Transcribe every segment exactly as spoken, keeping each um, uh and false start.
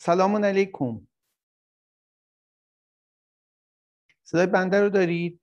سلام علیکم. صدای بنده رو دارید؟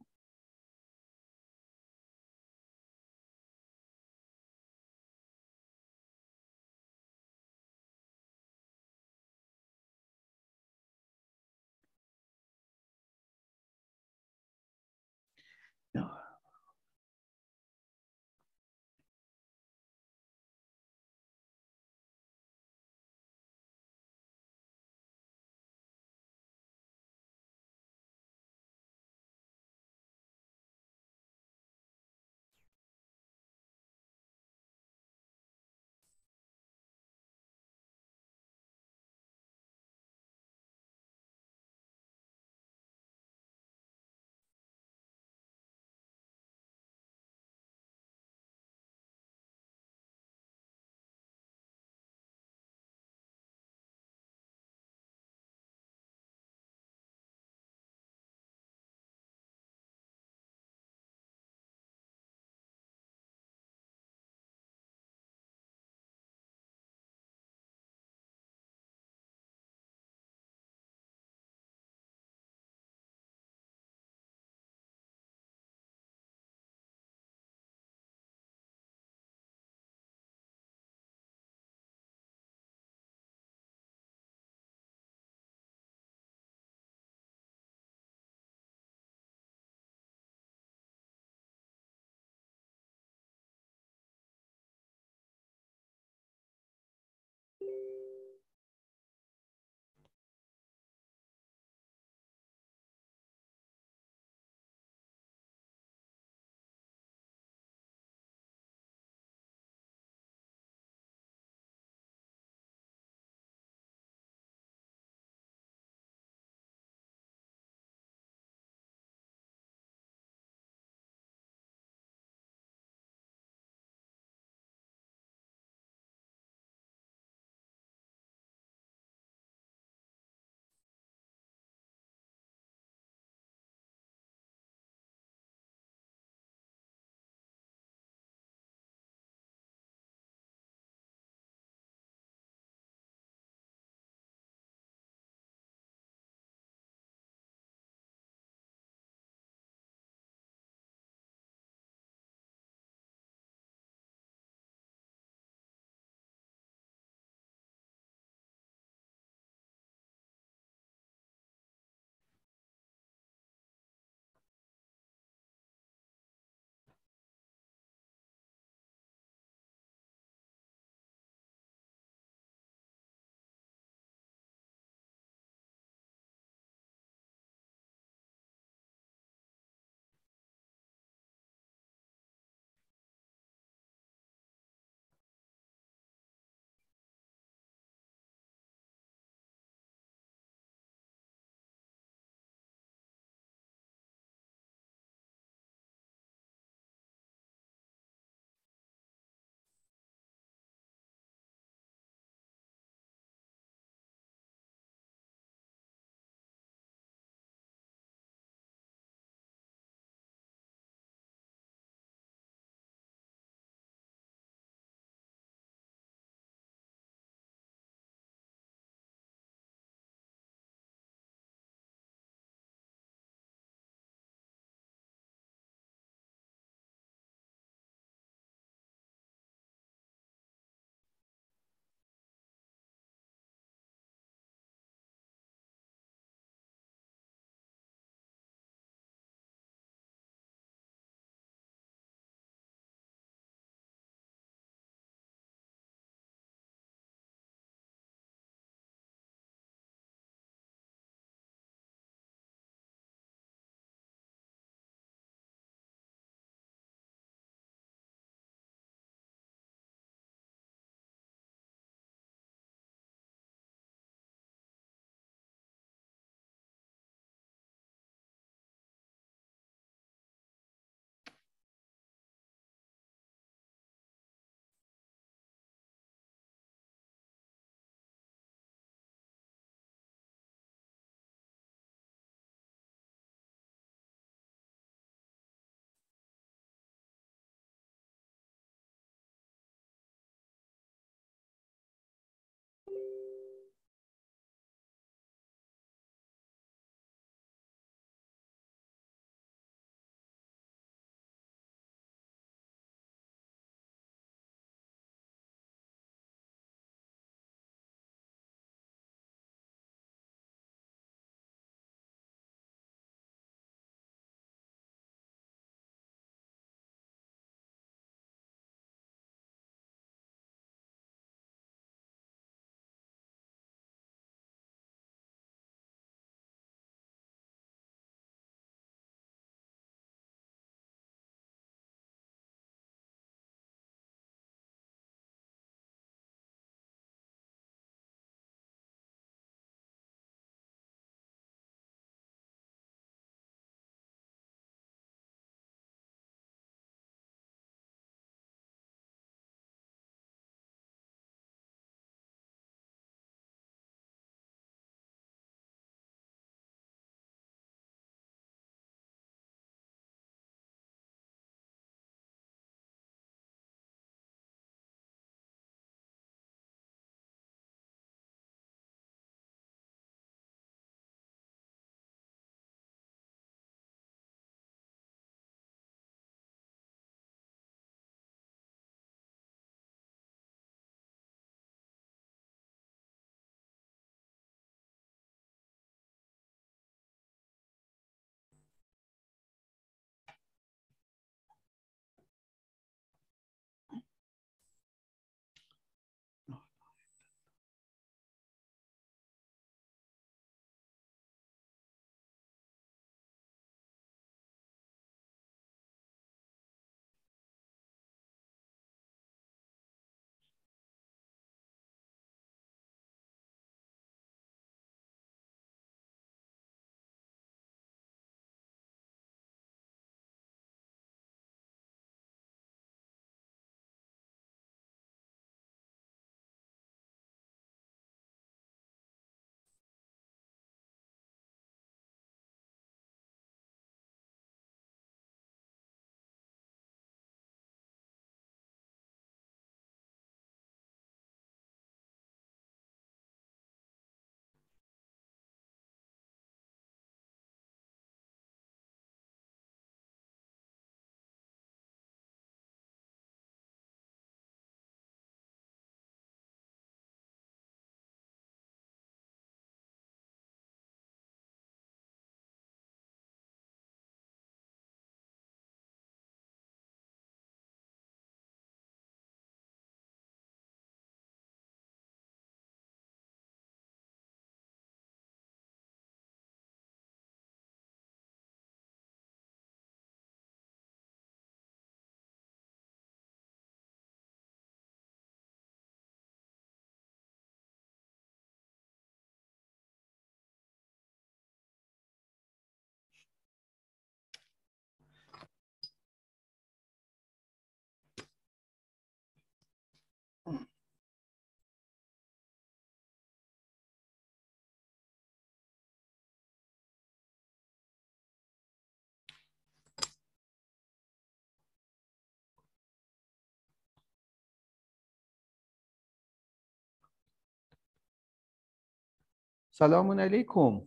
سلام علیکم.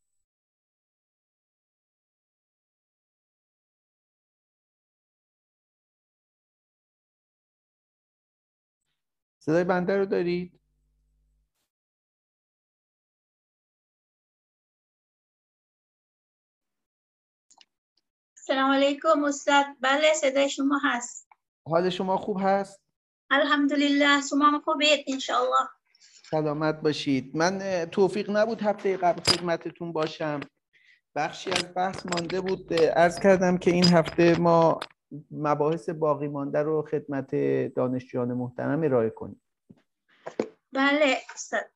صدای بنده رو دارید؟ سلام علیکم استاد. بله صدای شما هست. حال شما خوب هست؟ الحمدلله. شما هم خوبید انشاءالله. سلامت باشید. من توفیق نبود هفته قبل خدمتتون باشم، بخشی از بحث مانده بود. عرض کردم که این هفته ما مباحث باقی مانده رو خدمت دانشجویان محترم ارائه کنیم. بله استاد.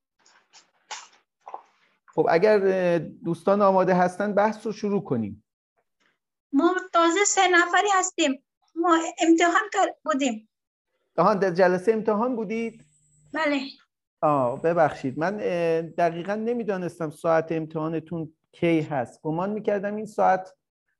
خب اگر دوستان آماده هستن بحث رو شروع کنیم. ما تازه سه نفری هستیم. ما امتحان بودیم. آها، در جلسه امتحان بودید؟ بله. آه ببخشید، من دقیقا نمیدانستم ساعت امتحانتون کی هست. گمان میکردم این ساعت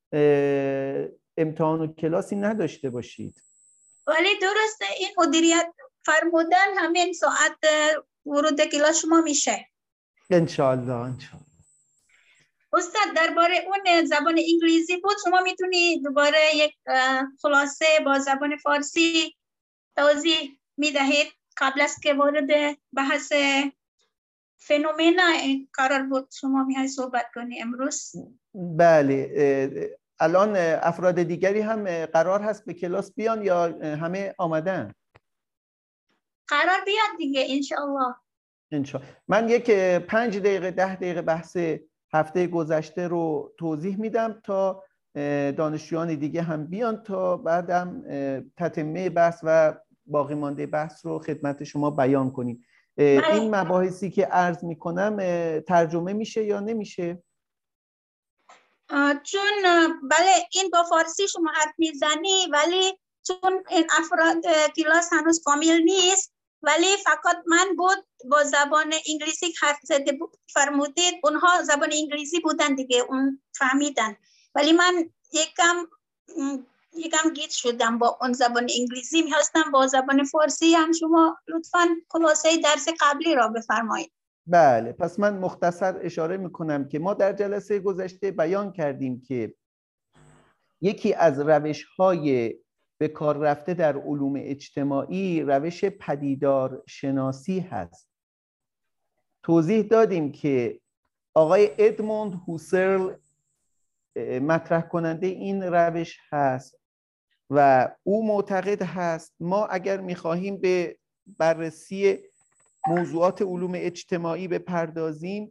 امتحان و کلاسی نداشته باشید. ولی درسته، این مدیریت فرمودن همین ساعت ورود کلاس شما میشه. انشالله انشالله. استاد درباره اون زبان انگلیسی بود، شما میتونی دوباره یک خلاصه با زبان فارسی توضیح میدهید قبل از که وارد بحث فنومنا قرار بود شما میای صحبت کنی امروز؟ بله. الان افراد دیگری هم قرار هست به کلاس بیان یا همه آمدن؟ قرار بیاد دیگه انشاءالله. انشاءالله. من یک پنج دقیقه ده دقیقه بحث هفته گذشته رو توضیح میدم تا دانشجویان دیگه هم بیان، تا بعدم تتمه بحث و باقی مانده بحث رو خدمت شما بیان کنیم. بله. این مباحثی که عرض میکنم ترجمه میشه یا نمیشه؟ چون بله این با فارسی شما حرف میزنی، ولی چون این افراد کلاس هنوز کامل نیست، ولی فقط من بود با زبان انگلیسی حرف زده فرمودید، اونها زبان انگلیسی بودن دیگه، اون فهمیدن، ولی من یکم یکم گیج شدم با اون زبان انگلیسی. می‌خواستم با زبان فارسی هم شما لطفاً خلاصه درس قبلی را بفرمایید. بله، پس من مختصر اشاره میکنم که ما در جلسه گذشته بیان کردیم که یکی از روش‌های به کار رفته در علوم اجتماعی روش پدیدار شناسی هست. توضیح دادیم که آقای ادموند هوسرل مطرح کننده این روش هست و او معتقد هست ما اگر میخواهیم به بررسی موضوعات علوم اجتماعی بپردازیم،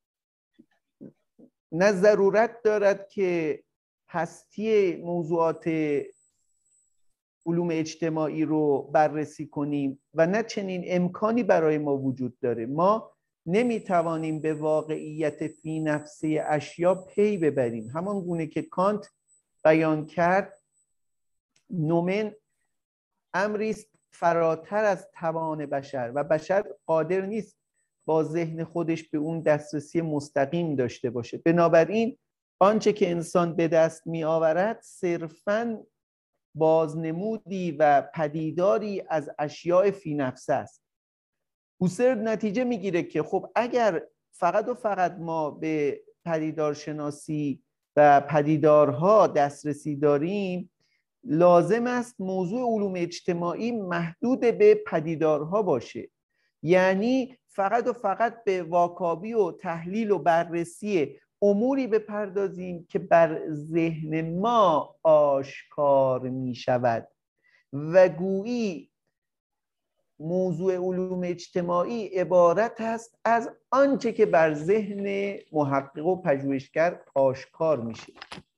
نه ضرورت دارد که هستی موضوعات علوم اجتماعی رو بررسی کنیم و نه چنین امکانی برای ما وجود داره. ما نمیتوانیم به واقعیت فی نفسه اشیا پی ببریم. همان گونه که کانت بیان کرد، نومن امریست فراتر از توان بشر و بشر قادر نیست با ذهن خودش به اون دسترسی مستقیم داشته باشه. بنابراین آنچه که انسان به دست می آورد صرفاً بازنمودی و پدیداری از اشیاء فی نفسه است. هوسرل نتیجه میگیره که خب اگر فقط و فقط ما به پدیدارشناسی و پدیدارها دسترسی داریم، لازم است موضوع علوم اجتماعی محدود به پدیدارها باشه، یعنی فقط و فقط به واکاوی و تحلیل و بررسی اموری بپردازیم که بر ذهن ما آشکار می شود و گویی موضوع علوم اجتماعی عبارت است از آنچه که بر ذهن محقق و پژوهشگر آشکار میشه.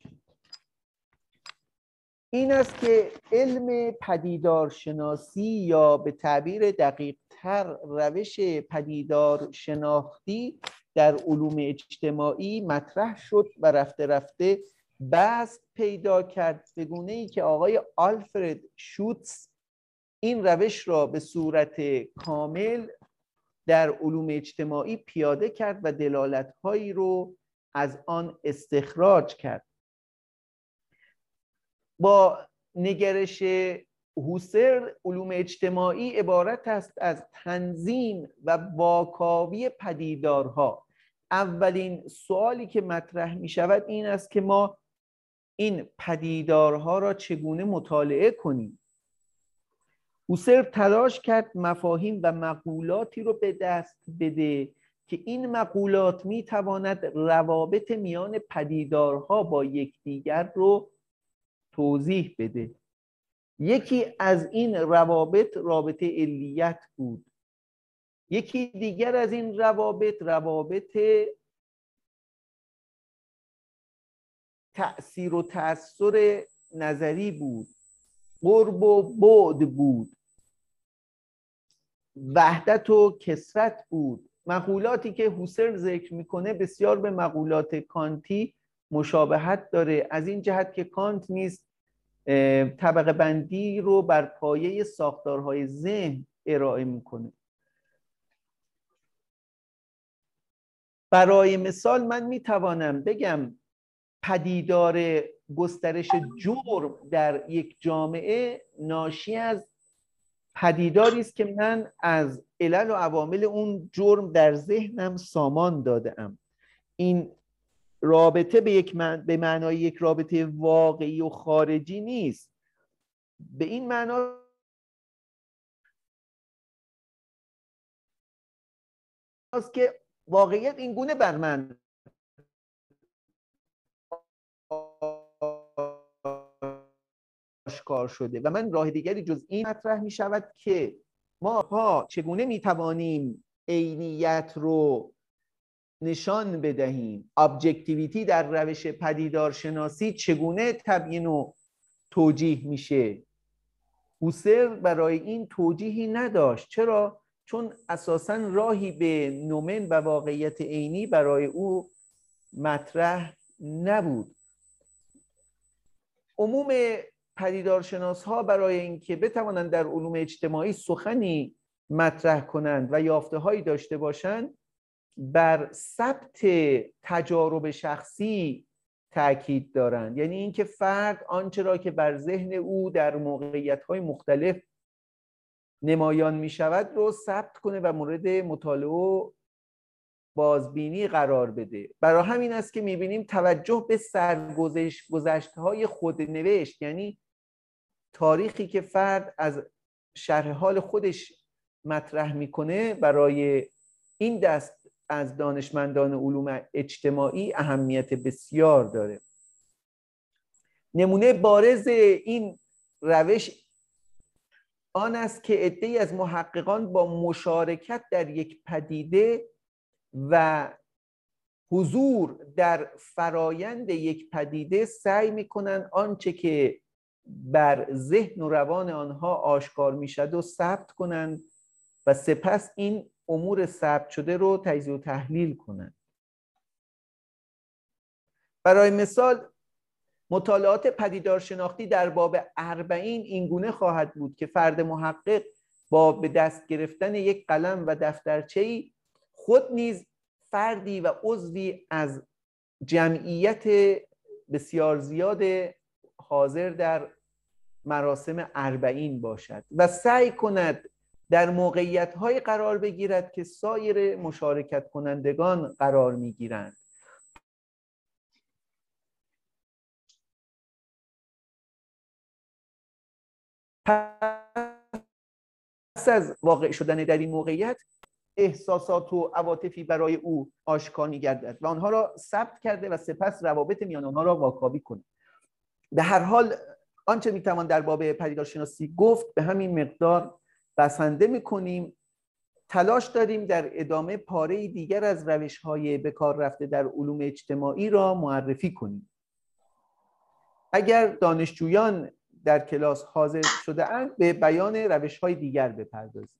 این است که علم پدیدار شناسی یا به تعبیر دقیق تر روش پدیدار شناختی در علوم اجتماعی مطرح شد و رفته رفته بسط پیدا کرد، به گونه‌ای که آقای آلفرد شوتز این روش را به صورت کامل در علوم اجتماعی پیاده کرد و دلالت‌هایی رو از آن استخراج کرد. با نگرش هوسر علوم اجتماعی عبارت است از تنظیم و واکاوی پدیدارها. اولین سوالی که مطرح می شود این است که ما این پدیدارها را چگونه مطالعه کنیم. هوسر تلاش کرد مفاهیم و مقولاتی رو به دست بده که این مقولات می تواند روابط میان پدیدارها با یکدیگر رو توضیح بده. یکی از این روابط رابطه علیت بود. یکی دیگر از این روابط روابط تأثیر و تأثیر نظری بود، قرب و بعد بود، وحدت و کثرت بود. مقولاتی که هوسر ذکر میکنه بسیار به مقولات کانتی مشابهت داره، از این جهت که کانت نیز طبقه بندی رو بر پایه ساختارهای ذهن ارائه میکنه. برای مثال من میتوانم بگم پدیدار گسترش جرم در یک جامعه ناشی از پدیداری است که من از علل و عوامل اون جرم در ذهنم سامان داده‌ام. این رابطه به یک من... به معنای یک رابطه واقعی و خارجی نیست. به این معنا است که واقعیت این گونه بر من آشکار شده و من راه دیگری جز این مطرح می شود که ما ها چگونه می توانیم عینیت رو نشان بدهیم. ابجکتیویتی در روش پدیدارشناسی چگونه تبیین و توجیه میشه؟ هوسر برای این توجیهی نداشت. چرا؟ چون اساساً راهی به نومن و واقعیت عینی برای او مطرح نبود. عموم پدیدارشناس ها برای اینکه بتوانند در علوم اجتماعی سخنی مطرح کنند و یافته هایی داشته باشند بر ثبت تجارب شخصی تاکید دارند. یعنی اینکه فرد آنچه را که بر ذهن او در موقعیت‌های مختلف نمایان می شود رو ثبت کنه و مورد مطالعه و بازبینی قرار بده. برای همین است که می بینیم توجه به سرگذشت گذشته‌های خودنوشت، یعنی تاریخی که فرد از شرح حال خودش مطرح میکنه، برای این دست از دانشمندان علوم اجتماعی اهمیت بسیار داره. نمونه بارز این روش آن است که عده‌ای از محققان با مشارکت در یک پدیده و حضور در فرایند یک پدیده سعی میکنن آنچه که بر ذهن و روان آنها آشکار میشد و ثبت کنند و سپس این امور ثبت شده رو تجزیه و تحلیل کنند. برای مثال مطالعات پدیدارشناختی در باب اربعین اینگونه خواهد بود که فرد محقق با به دست گرفتن یک قلم و دفترچه‌ای خود نیز فردی و عضوی از جمعیت بسیار زیاد حاضر در مراسم اربعین باشد و سعی کند در موقعیت‌های قرار بگیرد که سایر مشارکت کنندگان قرار می‌گیرند. پس از واقع شدن در این موقعیت احساسات و عواطفی برای او آشکار می‌گردد و آنها را ثبت کرده و سپس روابط میان آنها را واکاوی کند. به هر حال آنچه میتوان در باب پدیدارشناسی گفت به همین مقدار بسنده میکنیم. تلاش داریم در ادامه پاره دیگر از روش‌های به کار رفته در علوم اجتماعی را معرفی کنیم. اگر دانشجویان در کلاس حاضر شده اند به بیان روش‌های دیگر بپردازیم.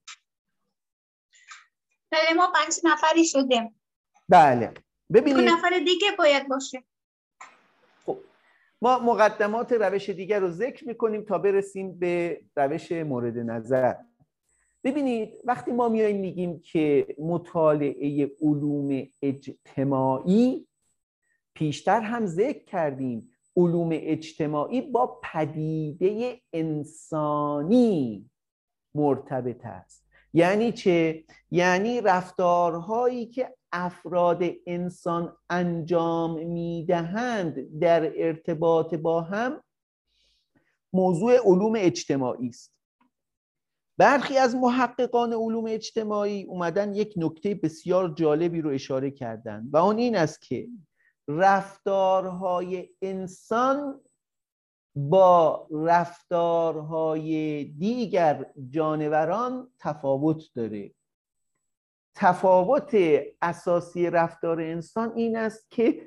بله ما پنج نفری شدیم. بله ببینید دو نفر دیگه باید باشه. خب ما مقدمات روش دیگر رو ذکر میکنیم تا برسیم به روش مورد نظر. ببینید وقتی ما میایم میگیم که مطالعه علوم اجتماعی، پیشتر هم ذکر کردیم علوم اجتماعی با پدیده انسانی مرتبط است. یعنی چه؟ یعنی رفتارهایی که افراد انسان انجام میدهند در ارتباط با هم موضوع علوم اجتماعی است. برخی از محققان علوم اجتماعی اومدن یک نکته بسیار جالبی رو اشاره کردن و اون این است که رفتارهای انسان با رفتارهای دیگر جانوران تفاوت داره. تفاوت اساسی رفتار انسان این است که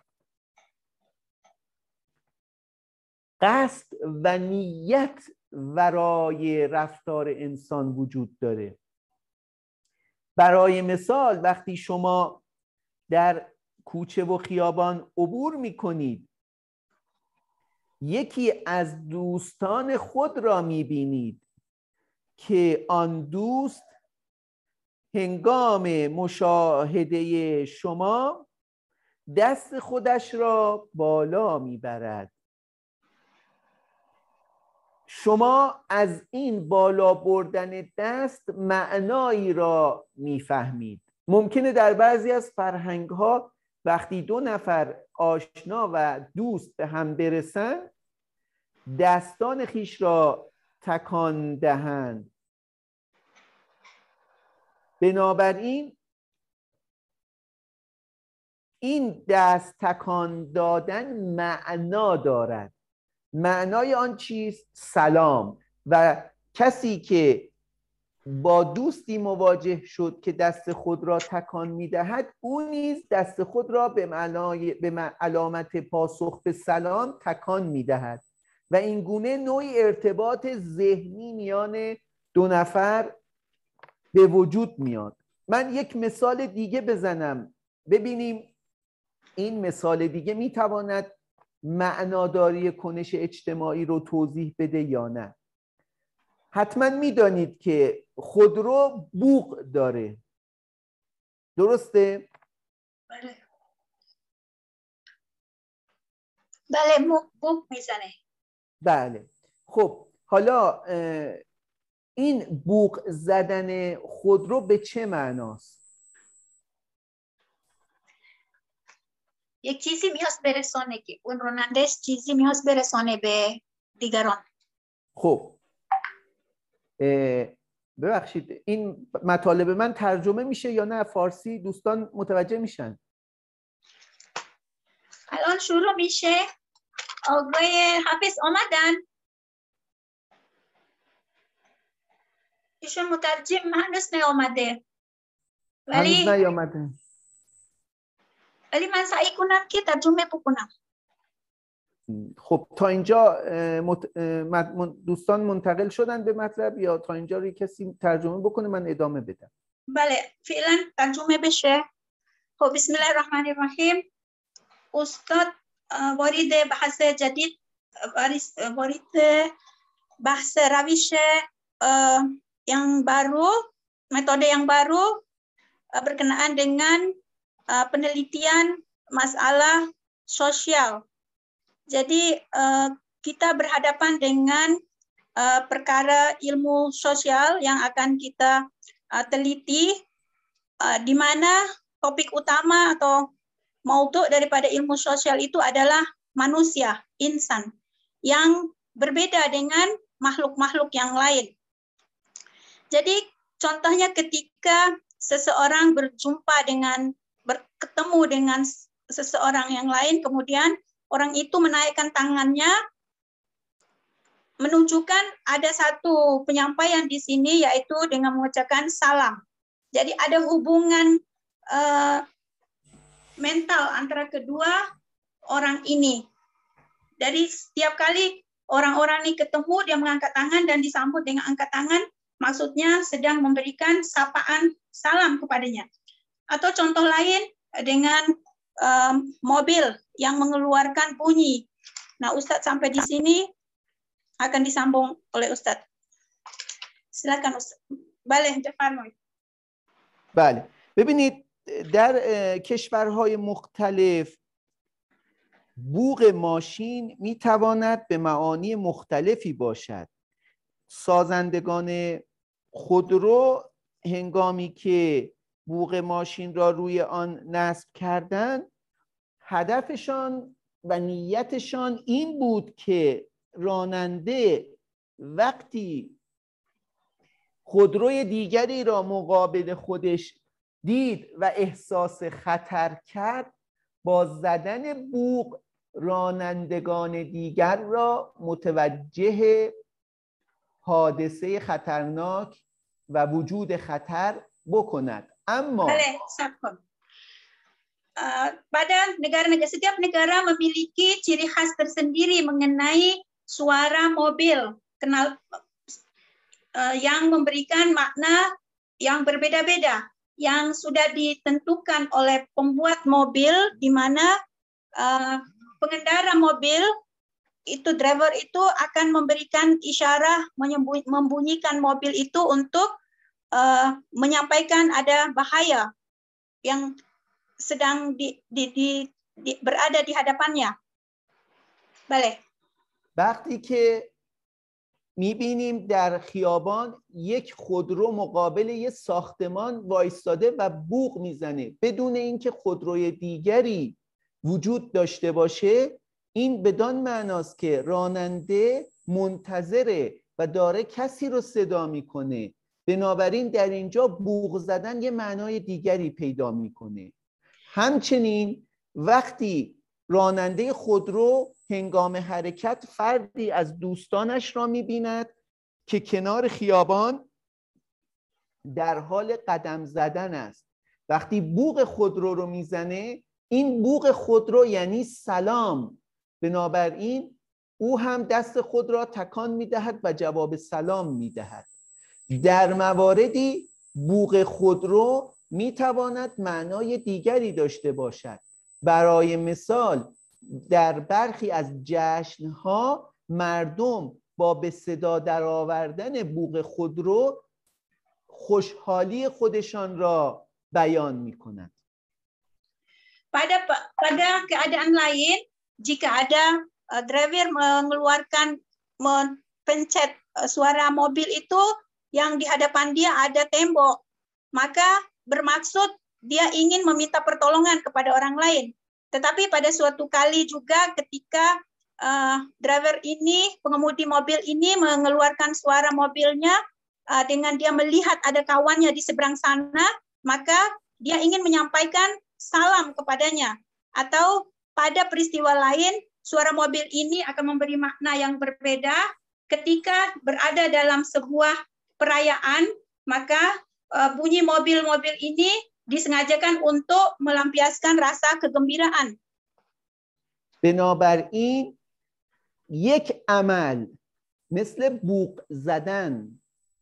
قصد و نیت ورای رفتار انسان وجود داره. برای مثال وقتی شما در کوچه و خیابان عبور می‌کنید، یکی از دوستان خود را می‌بینید که آن دوست هنگام مشاهده شما دست خودش را بالا می‌برد. شما از این بالا بردن دست معنایی را میفهمید. ممکنه در بعضی از فرهنگ‌ها وقتی دو نفر آشنا و دوست به هم برسن دستان خیش را تکان دهند. بنابراین این دست تکان دادن معنا دارد. معنای آن چیست؟ سلام. و کسی که با دوستی مواجه شد که دست خود را تکان می‌دهد، او نیز دست خود را به معنای به علامت پاسخ به سلام تکان می‌دهد و این گونه نوعی ارتباط ذهنی میان دو نفر به وجود میاد. من یک مثال دیگه بزنم ببینیم این مثال دیگه میتواند معناداری کنش اجتماعی رو توضیح بده یا نه. حتما میدانید که خودرو بوق داره، درسته؟ بله بله بوق میزنه. بله. خب حالا این بوق زدن خودرو به چه معناست؟ یک چیزی میخواست برسانه که اون رانندش چیزی میخواست برسانه به دیگران. خب ببخشید این مطالب من ترجمه میشه یا نه؟ فارسی دوستان متوجه میشن؟ الان شروع میشه. آقای حافظ آمدن؟ ایشون مترجم هنوز نیامده ولی هنوز نیامده. ولی من سعی کنم که ترجمه بکنم. خب تا اینجا دوستان منتقل شدن به مطلب یا تا اینجا روی کسی ترجمه بکنه من ادامه بدم؟ بله فعلا ترجمه بشه. خب بسم الله الرحمن الرحیم. استاد وارد بحث جدید وارد bahas روش yang baru, metode yang baru berkenaan dengan penelitian masalah sosial. Jadi kita berhadapan dengan perkara ilmu sosial yang akan kita teliti, di mana topik utama atau maudhu daripada ilmu sosial itu adalah manusia, insan, yang berbeda dengan makhluk-makhluk yang lain. Jadi contohnya ketika seseorang berjumpa dengan, bertemu dengan seseorang yang lain, kemudian orang itu menaikkan tangannya, menunjukkan ada satu penyampaian di sini yaitu dengan mengucapkan salam. Jadi ada hubungan uh, mental antara kedua orang ini. Dari setiap kali orang-orang ini ketemu, dia mengangkat tangan dan disambut dengan angkat tangan, maksudnya sedang memberikan sapaan salam kepadanya. Atau contoh lain dengan um, mobil yang mengeluarkan bunyi. Nah, Ustadz sampai di sini akan disambung oleh Ustadz. Silakan Ustadz. بله بفرمایید. بله ببینید در کشورهای مختلف بوق ماشین میتواند به معانی مختلفی باشد. سازندگان خودرو هنگامی که بوق ماشین را روی آن نصب کردند، هدفشان و نیتشان این بود که راننده وقتی خودروی دیگری را مقابل خودش دید و احساس خطر کرد، با زدن بوق رانندگان دیگر را متوجه حادثه خطرناک و وجود خطر بکند. اما Boleh, Sakon. Uh, pada negara-negara, setiap negara memiliki ciri khas tersendiri mengenai suara mobil, kenal uh, yang memberikan makna yang berbeda-beda, yang sudah ditentukan oleh pembuat mobil, di mana uh, pengendara mobil itu, driver itu akan memberikan isyarat, membunyikan mobil itu untuk uh, menyampaikan ada bahaya yang sedang di, di, di, di, berada di hadapannya. بله. وقتی که میبینیم در خیابان یک خودرو مقابل یک ساختمان وایستاده و بوق میزنه بدون اینکه خودروی دیگری وجود داشته باشه، این بدان معناست که راننده منتظره و داره کسی رو صدا میکنه. بنابراین در اینجا بوق زدن یه معنای دیگری پیدا میکنه. همچنین وقتی راننده خودرو هنگام حرکت فردی از دوستانش را می‌بیند که کنار خیابان در حال قدم زدن است، وقتی بوق خودرو رو میزنه، این بوق خودرو یعنی سلام. بنابراین او هم دست خود را تکان می‌دهد و جواب سلام می‌دهد. در مواردی بوق خودرو می‌تواند معنای دیگری داشته باشد. برای مثال در برخی از جشن‌ها مردم با به صدا درآوردن بوق خودرو خوشحالی خودشان را بیان می‌کنند. Pada pada keadaan lain, jika ada uh, driver mengeluarkan mencet uh, suara mobil itu yang di hadapan dia ada tembok, maka bermaksud dia ingin meminta pertolongan kepada orang lain. Tetapi pada suatu kali juga ketika uh, driver ini, pengemudi mobil ini mengeluarkan suara mobilnya uh, dengan dia melihat ada kawannya di seberang sana, maka dia ingin menyampaikan salam kepadanya. Atau pada peristiwa lain, suara mobil ini akan memberi makna yang berbeda ketika berada dalam sebuah perayaan, maka uh, bunyi mobil-mobil ini disengajakan untuk melampiaskan rasa kegembiraan. بنابراین یک عمل مثل بوق زدن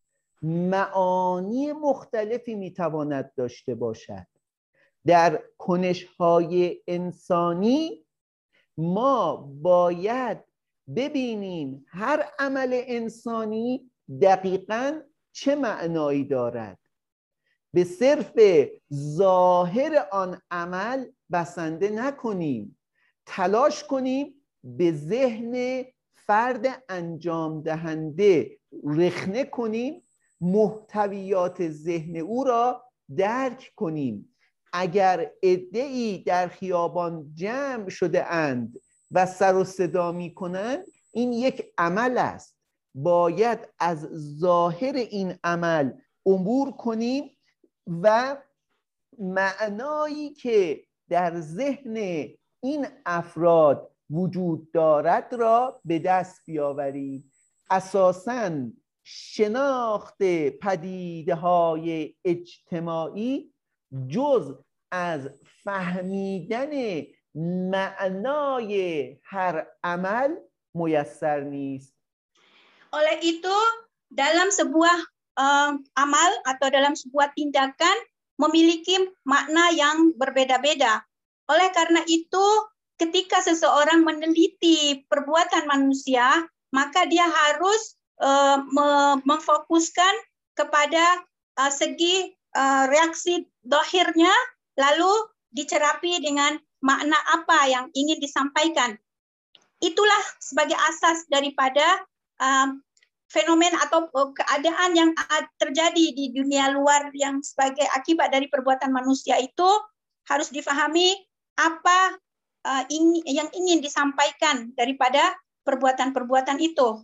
معانی مختلفی میتواند داشته باشد. در کنش‌های انسانی ما باید ببینیم هر عمل انسانی دقیقاً چه معنایی دارد. به صرف ظاهر آن عمل بسنده نکنیم، تلاش کنیم به ذهن فرد انجام دهنده رخنه کنیم، محتویات ذهن او را درک کنیم. اگر عده‌ای در خیابان جمع شده اند و سر و صدا می کنند، این یک عمل است. باید از ظاهر این عمل عبور کنیم و معنایی که در ذهن این افراد وجود دارد را به دست بیاوریم. اساساً شناخت پدیده‌های اجتماعی جز از فهمیدن معنای هر عمل میسر نیست. Oleh itu, dalam sebuah uh, amal atau dalam sebuah tindakan memiliki makna yang berbeda-beda. Oleh karena itu, ketika seseorang meneliti perbuatan manusia, maka dia harus uh, memfokuskan kepada uh, segi uh, reaksi dohirnya, lalu dicerapi dengan makna apa yang ingin disampaikan. Itulah sebagai asas daripada um, fenomena atau keadaan yang terjadi di dunia luar yang sebagai akibat dari perbuatan manusia itu harus difahami apa uh, ing, yang ingin disampaikan daripada perbuatan-perbuatan itu.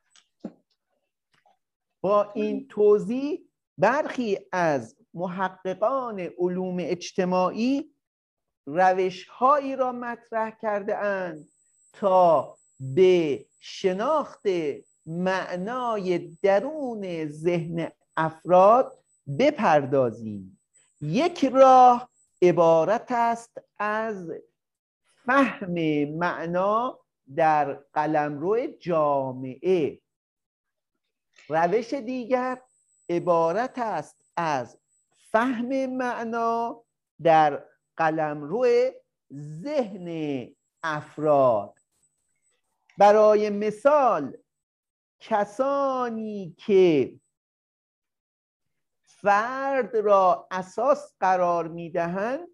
با این توضیح برخی از محققان علوم اجتماعی روش‌هایی را مطرح کرده اند تا به شناخت معنای درون ذهن افراد بپردازیم. یک راه عبارت است از فهم معنا در قلمرو جامعه. روش دیگر عبارت است از فهم معنا در قلمرو ذهن افراد. برای مثال کسانی که فرد را اساس قرار می‌دهند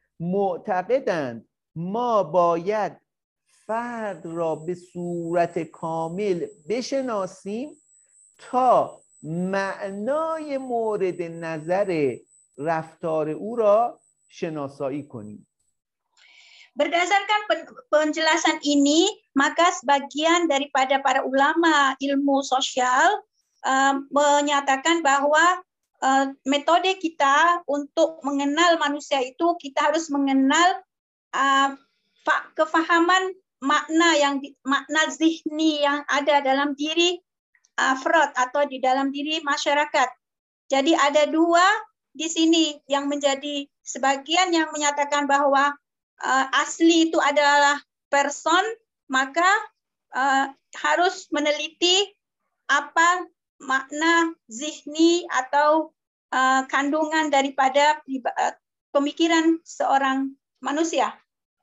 معتقدند ما باید فرد را به صورت کامل بشناسیم تا معنای مورد نظر رفتار او را شناسایی کنیم. Berdasarkan penjelasan ini, maka sebagian daripada para ulama ilmu sosial uh, menyatakan bahwa uh, metode kita untuk mengenal manusia itu kita harus mengenal uh, kefahaman makna yang makna zihni yang ada dalam diri afrod atau di dalam diri masyarakat. Jadi ada dua di sini yang menjadi sebagian yang menyatakan bahwa Uh, asli itu adalah person, maka uh, harus meneliti apa makna zihni atau uh, kandungan daripada uh, pemikiran seorang manusia.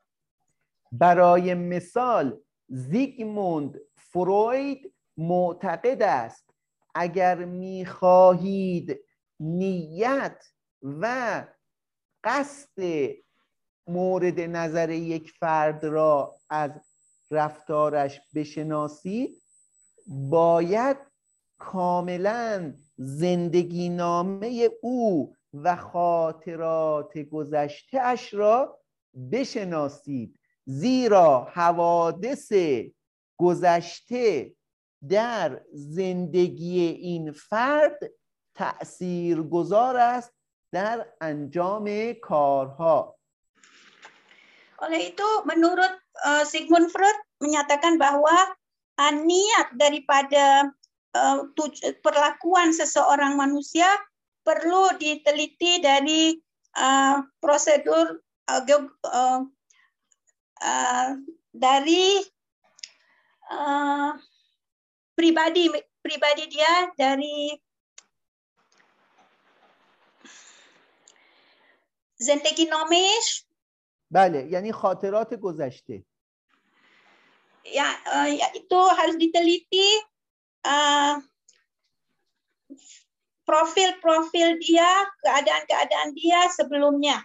برای مثال زیگموند فروید معتقد است اگر می‌خواهید نیت و قصد مورد نظر یک فرد را از رفتارش بشناسید باید کاملا زندگی نامه او و خاطرات گذشته اش را بشناسید، زیرا حوادث گذشته در زندگی این فرد تأثیرگذار است در انجام کارها. Oleh itu, menurut uh, Sigmund Freud menyatakan bahwa uh, niat daripada uh, perlakuan seseorang manusia perlu diteliti dari uh, prosedur uh, uh, uh, dari uh, pribadi pribadi dia, dari زندگی نامش. بله، یعنی خاطرات گذشته. Ya, uh, ya itu harus diteliti uh, profil-profil dia, keadaan-keadaan dia sebelumnya.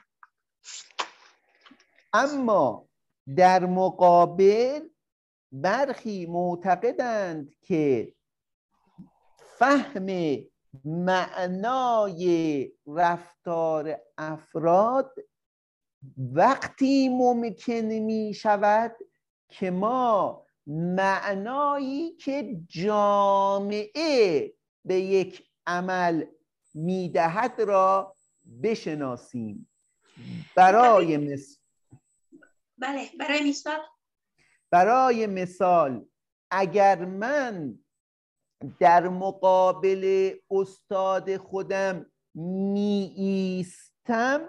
اما در مقابل برخی معتقدند که فهم معنای رفتار افراد وقتی ممکن می شود که ما معنایی که جامعه به یک عمل میدهد را بشناسیم. برای مثال بله برای مثال برای مثال اگر من در مقابل استاد خودم می ایستم،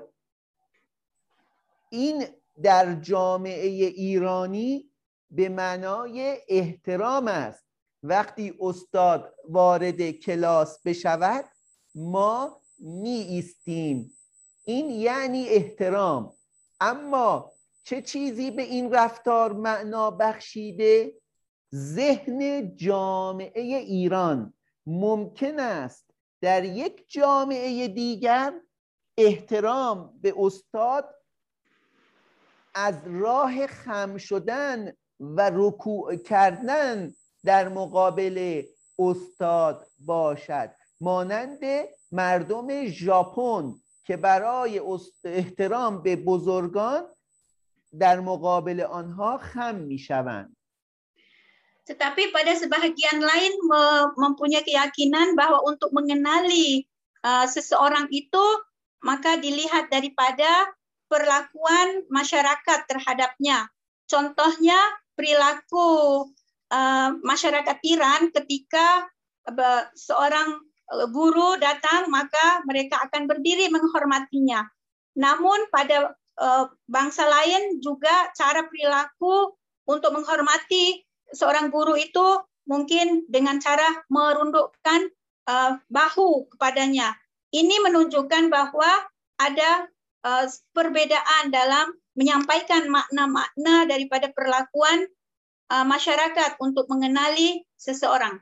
این در جامعه ایرانی به معنای احترام است. وقتی استاد وارد کلاس بشود ما می ایستیم، این یعنی احترام. اما چه چیزی به این رفتار معنا بخشیده؟ ذهن جامعه ایران. ممکن است در یک جامعه دیگر احترام به استاد از راه خم شدن و رکوع کردن در مقابل استاد باشد، مانند مردم ژاپن که برای احترام به بزرگان در مقابل آنها خم میشوند. Tetapi pada sebahagian lain mempunyai keyakinan bahwa untuk mengenali uh, seseorang itu maka dilihat daripada perlakuan masyarakat terhadapnya. Contohnya perilaku uh, masyarakat Iran ketika uh, seorang guru datang maka mereka akan berdiri menghormatinya. Namun pada uh, bangsa lain juga cara perilaku untuk menghormati seorang guru itu mungkin dengan cara merundukkan uh, bahu kepadanya. Ini menunjukkan bahwa ada uh, perbedaan dalam menyampaikan makna-makna daripada perlakuan uh, masyarakat untuk mengenali seseorang.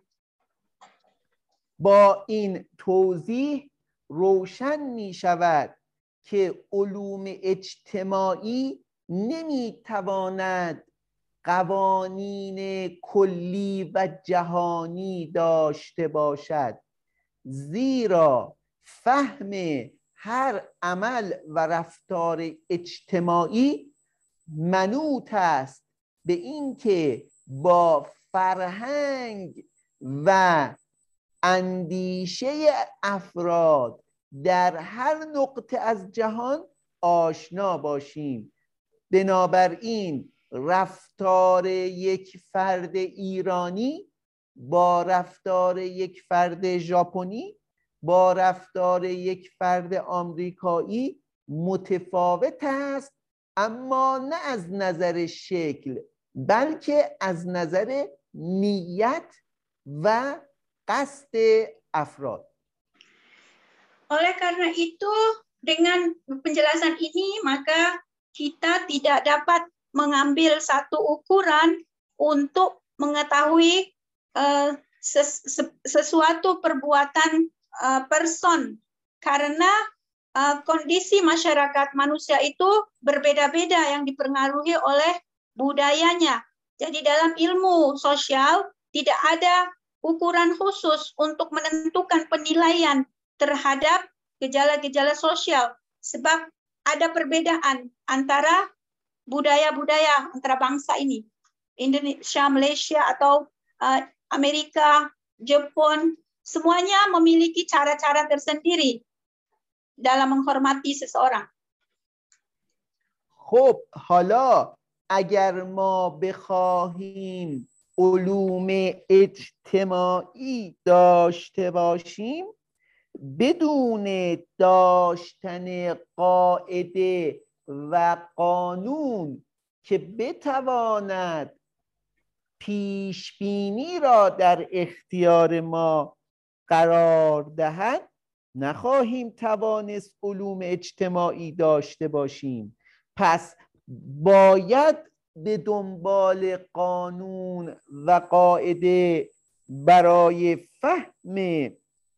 با این توضیح روشن می شود که علوم اجتماعی نمی تواند قوانین کلی و جهانی داشته باشد، زیرا فهم هر عمل و رفتار اجتماعی منوط است به اینکه با فرهنگ و اندیشه افراد در هر نقطه از جهان آشنا باشیم. بنابراین رفتار یک فرد ایرانی با رفتار یک فرد ژاپنی با رفتار یک فرد آمریکایی متفاوت است، اما نه از نظر شکل بلکه از نظر نیت و قصد افراد. Oleh karena itu, dengan penjelasan ini maka kita tidak dapat mengambil satu ukuran untuk mengetahui uh, ses sesuatu perbuatan uh, person, karena uh, kondisi masyarakat manusia itu berbeda-beda yang dipengaruhi oleh budayanya. Jadi dalam ilmu sosial tidak ada ukuran khusus untuk menentukan penilaian terhadap gejala-gejala sosial, sebab ada perbedaan antara budaya-budaya antara bangsa ini, Indonesia, Malaysia, atau uh, Amerika, Jepun, semuanya memiliki cara-cara tersendiri dalam menghormati seseorang. خب حالا اگر ما بخواهیم علوم اجتماعی داشته باشیم، بدون داشتن قاعده و قانون که بتواند پیشبینی را در اختیار ما قرار دهد، نخواهیم توانست علوم اجتماعی داشته باشیم. پس باید به دنبال قانون و قاعده برای فهم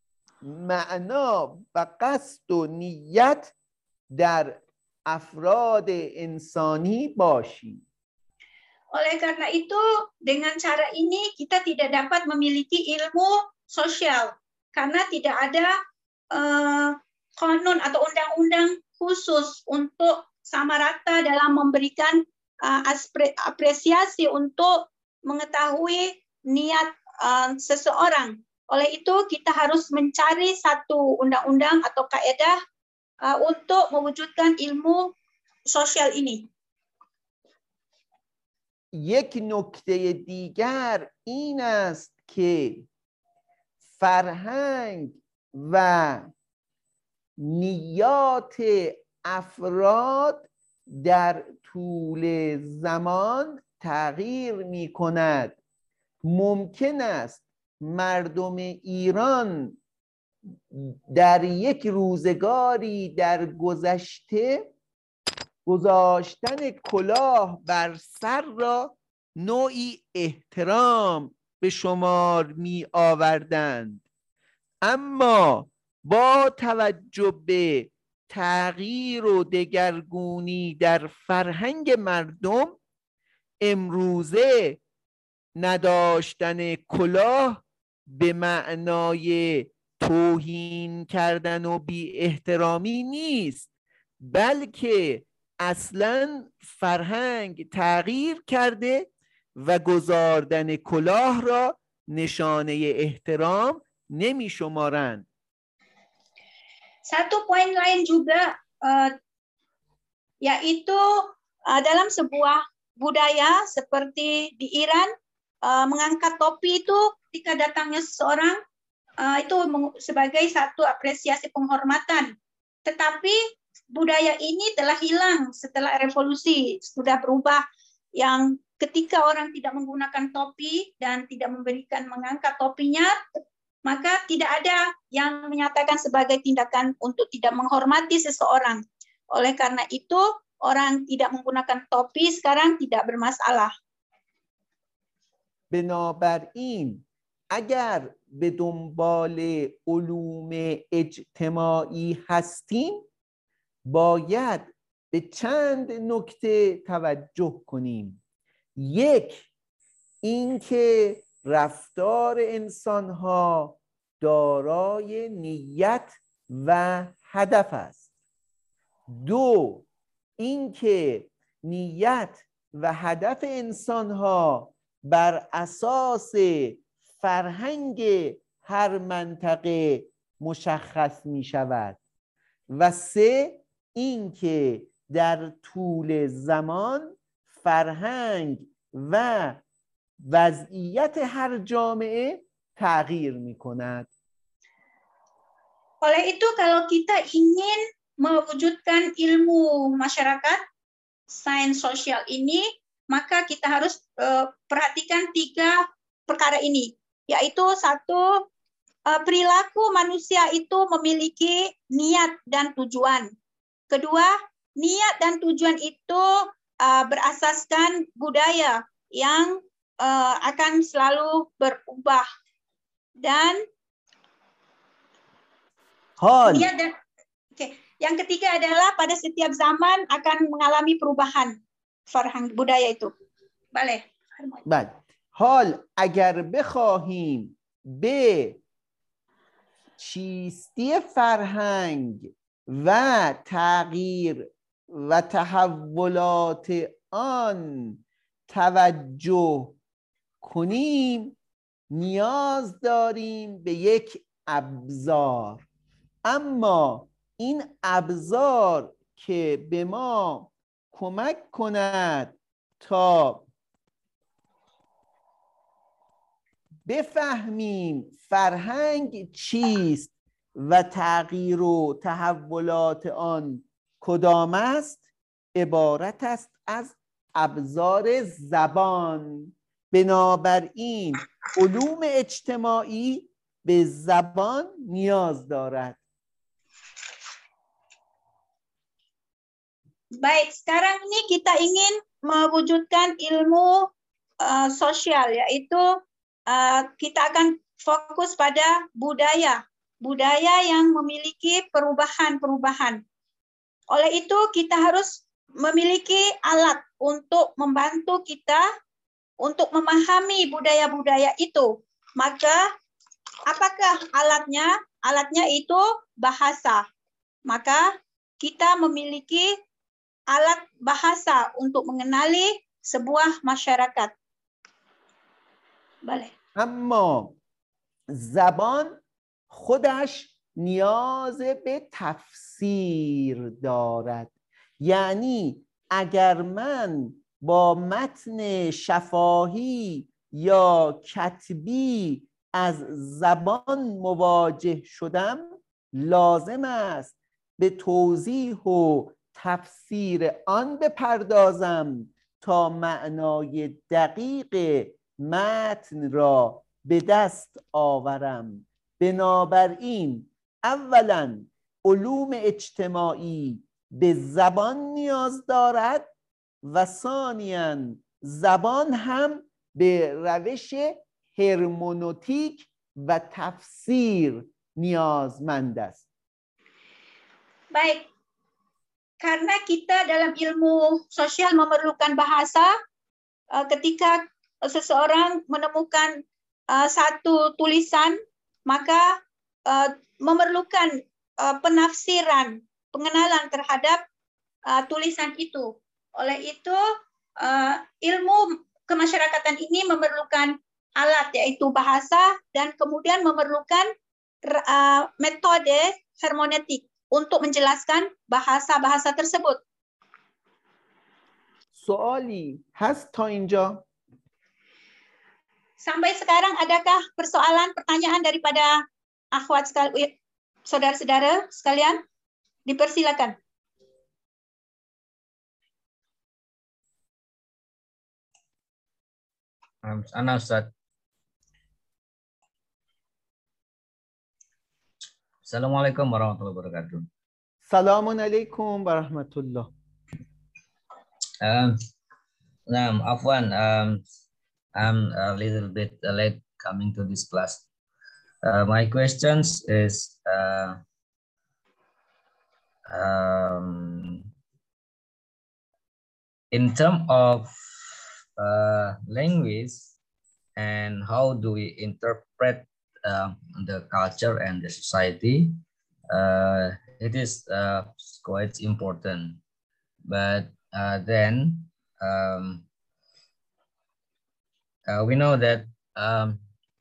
معنا و قصد و نیت در افراد انسانی باشیم. Oleh karena itu, dengan cara ini kita tidak dapat memiliki ilmu sosial karena tidak ada uh, konon atau undang-undang khusus untuk sama rata dalam memberikan uh, apresiasi untuk mengetahui niat uh, seseorang. Oleh itu kita harus mencari satu undang-undang atau kaidah uh, untuk mewujudkan ilmu sosial ini. یک نکته دیگر این است که فرهنگ و نیات افراد در طول زمان تغییر می کند. ممکن است مردم ایران در یک روزگاری در گذشته گذاشتن کلاه بر سر را نوعی احترام به شمار می آوردند، اما با توجه به تغییر و دگرگونی در فرهنگ مردم امروزه نداشتن کلاه به معنای توهین کردن و بی احترامی نیست، بلکه اصلا فرهنگ تغییر کرده و گذاردن کلاه را نشانه احترام نمی شمارند. Satu poin lain juga uh, yaitu uh, dalam sebuah budaya seperti di Iran, uh, mengangkat topi itu ketika datangnya seseorang uh, itu sebagai satu apresiasi penghormatan. Tetapi budaya ini telah hilang setelah revolusi, sudah berubah, yang ketika orang tidak menggunakan topi dan tidak memberikan mengangkat topinya, maka tidak ada yang menyatakan sebagai tindakan untuk tidak menghormati seseorang. Oleh karena itu, orang tidak menggunakan topi sekarang tidak bermasalah. بنابراین اگر به دنبال علوم اجتماعی هستیم باید به چند نکته توجه کنیم. یک، اینکه رفتار انسان‌ها دارای نیت و هدف است. دو، اینکه نیت و هدف انسان‌ها بر اساس فرهنگ هر منطقه مشخص می شود. و سه، اینکه در طول زمان فرهنگ و وضعیت هر جامعه تغییر می کند. Oleh itu kalau kita ingin mewujudkan ilmu masyarakat, sains sosial ini, maka kita harus uh, perhatikan tiga perkara ini, yaitu satu, uh, perilaku manusia itu memiliki niat dan tujuan. Kedua, niat dan tujuan itu uh, berasaskan budaya yang uh, akan selalu berubah. Dan Hal. niat dan, okay. Yang ketiga adalah pada setiap zaman akan mengalami perubahan فرهنگ budaya itu. بله. بله. حال اگر بخواهیم به چیستی فرهنگ و تغییر و تحولات آن توجه کنیم نیاز داریم به یک ابزار. اما این ابزار که به ما کمک کند تا بفهمیم فرهنگ چیست و تغییر و تحولات آن کدام است عبارت است از ابزار زبان. بنابراین علوم اجتماعی به زبان نیاز دارد. Baik, sekarang ini kita ingin mewujudkan ilmu uh, sosial, yaitu uh, kita akan fokus pada budaya, budaya yang memiliki perubahan-perubahan. Oleh itu kita harus memiliki alat untuk membantu kita untuk memahami budaya-budaya itu. Maka apakah alatnya? Alatnya itu bahasa. Maka kita memiliki alat bahasa untuk mengenali sebuah masyarakat. بله. اما زبان خودش نیاز به تفسیر دارد. یعنی اگر من با متن شفاهی یا کتبی از زبان مواجه شدم لازم است به توضیح و تفسیر آن بپردازم تا معنای دقیق متن را به دست آورم. بنابراین اولا علوم اجتماعی به زبان نیاز دارد و ثانیاً زبان هم به روش هرمنوتیک و تفسیر نیازمند است. Baik, karena kita dalam ilmu sosial memerlukan bahasa uh, ketika seseorang menemukan uh, satu tulisan, maka uh, memerlukan uh, penafsiran, pengenalan terhadap uh, tulisan itu. Oleh itu, uh, ilmu kemasyarakatan ini memerlukan alat, yaitu bahasa, dan kemudian memerlukan uh, metode hermeneutik untuk menjelaskan bahasa-bahasa tersebut. سوالی هست تا اینجا؟ Sampai sekarang adakah persoalan, pertanyaan daripada akhwat sekalian, saudara-saudara sekalian? Dipersilakan. Ana Ustaz. Assalamualaikum warahmatullahi wabarakatuh. Assalamu alaikum warahmatullah. Um, nah, Afwan, um, I'm a little bit late coming to this class. Uh, my questions is uh, um, in terms of uh, language and how do we interpret uh, the culture and the society, uh, it is uh, quite important. But uh, then um, uh, we know that um,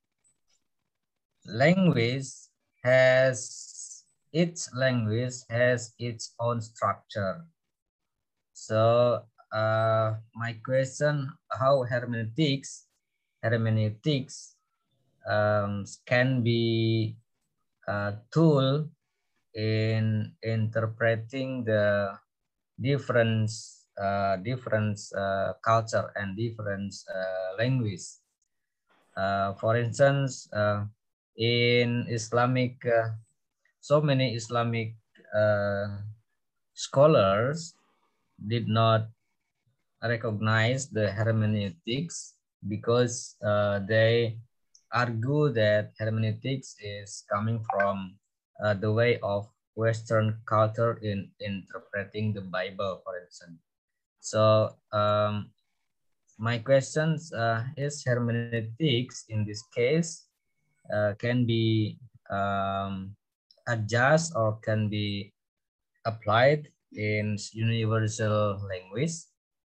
language has its language has its own structure. So uh, my question: how hermeneutics hermeneutics um, can be a tool in interpreting the different uh, different uh, culture and different uh, language. Uh, for instance, uh, in Islamic, uh, so many Islamic uh, scholars did not recognize the hermeneutics because uh, they argue that hermeneutics is coming from uh, the way of Western culture in interpreting the Bible, for instance. So um, my questions uh, is hermeneutics in this case uh, can be um, adjust or can be applied in universal language.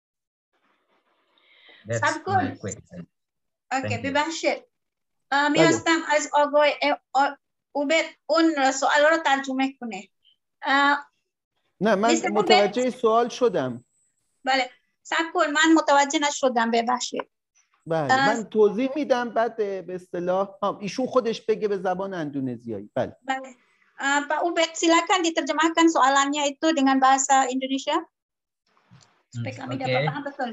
That's my question. Okay, ببخشید. می‌خواستم از آقای عبید اون سوال رو ترجمه کنه. نه من متوجه سوال شدم. بله. صبر کن، من متوجه نشدم، ببخشید. بله من توضیح میدم بعد به اصطلاح ایشون خودش بگه به زبان اندونزیایی. بله. بله. Pak Ubed, silakan diterjemahkan soalannya itu dengan bahasa Indonesia supaya kami okay. dapat paham betul.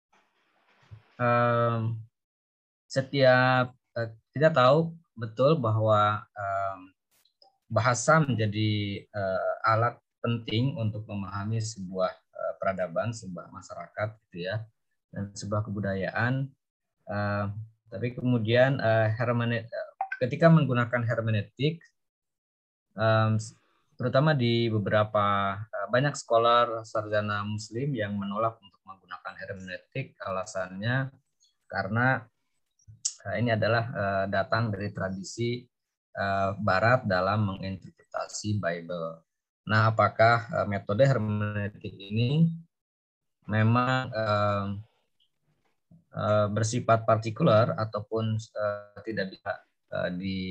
Um, setiap uh, kita tahu betul bahwa um, bahasa menjadi uh, alat penting untuk memahami sebuah uh, peradaban, sebuah masyarakat, gitu ya, dan sebuah kebudayaan. Uh, tapi kemudian uh, hermenet, ketika menggunakan hermeneutik, um, terutama di beberapa uh, banyak scholar sarjana Muslim yang menolak untuk menggunakan hermeneutik, alasannya karena uh, ini adalah uh, datang dari tradisi uh, Barat dalam menginterpretasi Bible. Nah, apakah uh, metode hermeneutik ini memang uh, uh, bersifat partikular ataupun uh, tidak bisa uh,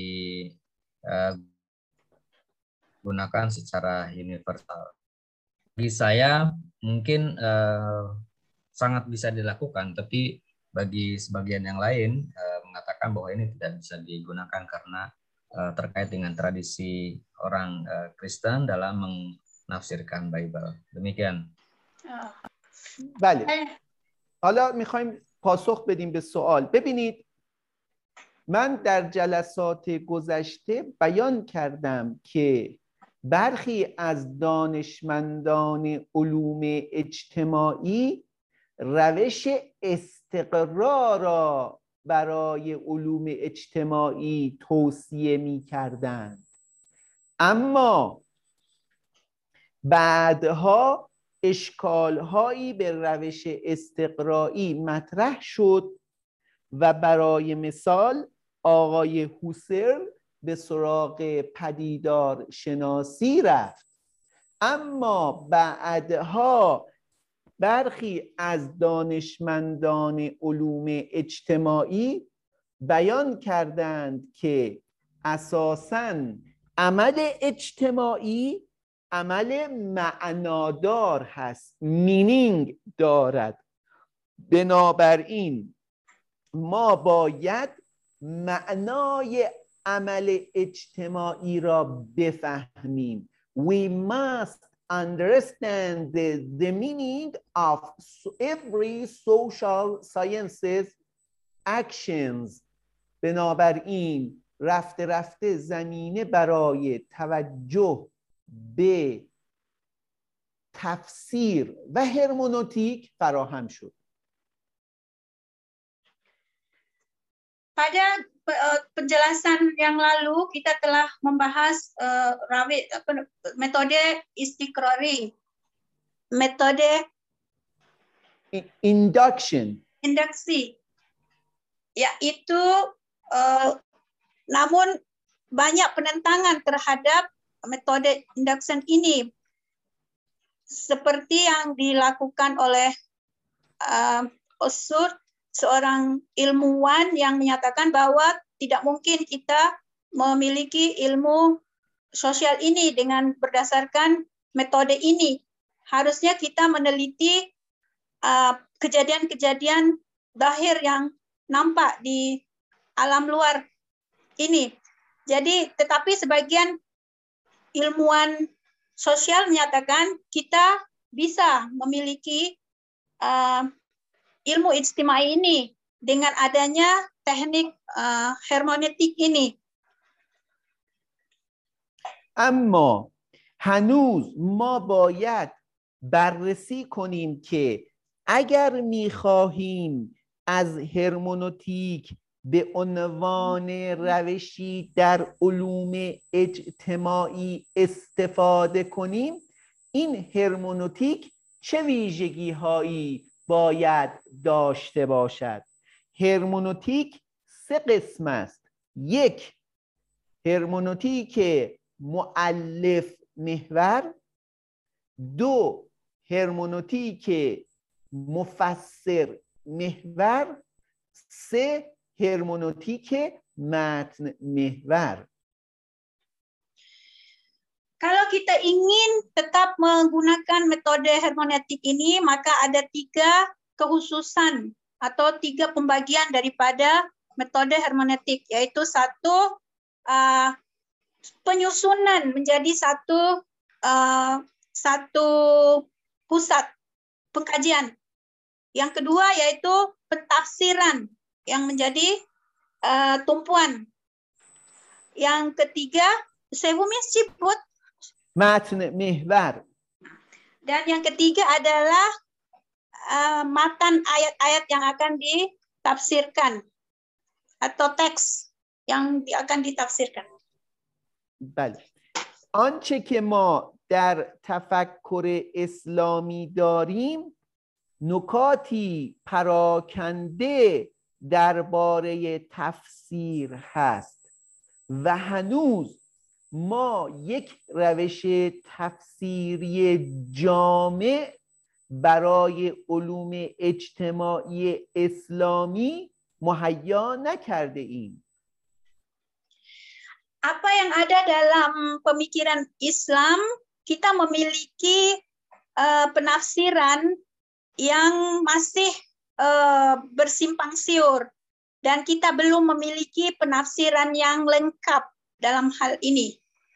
digunakan uh, secara universal? Bagi saya mungkin uh, sangat bisa dilakukan, tapi bagi sebagian yang lain uh, mengatakan bahwa ini tidak bisa digunakan karena uh, terkait dengan tradisi orang uh, Kristen dalam menafsirkan Bible. Demikian. بله. حالا میخوایم پاسخ بدیم به سوال. ببینید من در جلسات گذشته بیان کردم که برخی از دانشمندان علوم اجتماعی روش استقرا را برای علوم اجتماعی توصیه می کردند، اما بعدها اشکالهایی به روش استقرایی مطرح شد و برای مثال آقای هوسرل به سراغ پدیدار شناسی رفت، اما بعدها برخی از دانشمندان علوم اجتماعی بیان کردند که اساساً عمل اجتماعی عمل معنادار هست، مینینگ دارد. بنابراین ما باید معنای عمل اجتماعی را بفهمیم. We must understand the, the meaning of every social sciences actions. بنابراین رفته رفته زمینه برای توجه به تفسیر و هرمنوتیک farahan شد. Pada penjelasan yang lalu kita telah membahas uh, rawi, metode istiqrari, metode induction, induksi, yaitu uh, namun banyak penentangan terhadap metode induction ini, seperti yang dilakukan oleh uh, Osur, seorang ilmuwan yang menyatakan bahwa tidak mungkin kita memiliki ilmu sosial ini dengan berdasarkan metode ini. Harusnya kita meneliti kejadian-kejadian uh, zahir yang nampak di alam luar ini. Jadi, tetapi sebagian ilmuwan sosial menyatakan kita bisa memiliki uh, ilmu ijtimai ini dengan adanya teknik uh, hermeneutik ini. اما هنوز ما باید بررسی کنیم که اگر می‌خواهیم از هرمنوتیک به عنوان روشی در علوم اجتماعی استفاده کنیم، این هرمنوتیک چه ویژگی‌هایی باید داشته باشد؟ هرمنوتیک سه قسم است. یک، هرمنوتیک مؤلف محور. دو، هرمنوتیک مفسر محور. سه، هرمنوتیک متن محور. Kalau kita ingin tetap menggunakan metode hermeneutik ini, maka ada tiga kekhususan atau tiga pembagian daripada metode hermeneutik, yaitu satu, uh, penyusunan menjadi satu uh, satu pusat pengkajian. Yang kedua yaitu pentafsiran yang menjadi uh, tumpuan. Yang ketiga, sewumnya siput. متن محور. Dan yang ketiga adalah uh, matan ayat-ayat yang akan ditafsirkan atau teks yang akan ditafsirkan. بله. آنچه که ما در تفکر اسلامی داریم نکاتی پراکنده درباره تفسیر هست و هنوز ما یک روش تفسیری جامع برای علوم اجتماعی اسلامی مهیا نکرده ایم. Apa yang ada dalam pemikiran Islam, kita memiliki uh, penafsiran yang masih uh, bersimpang siur dan kita belum memiliki penafsiran yang lengkap dalam hal ini.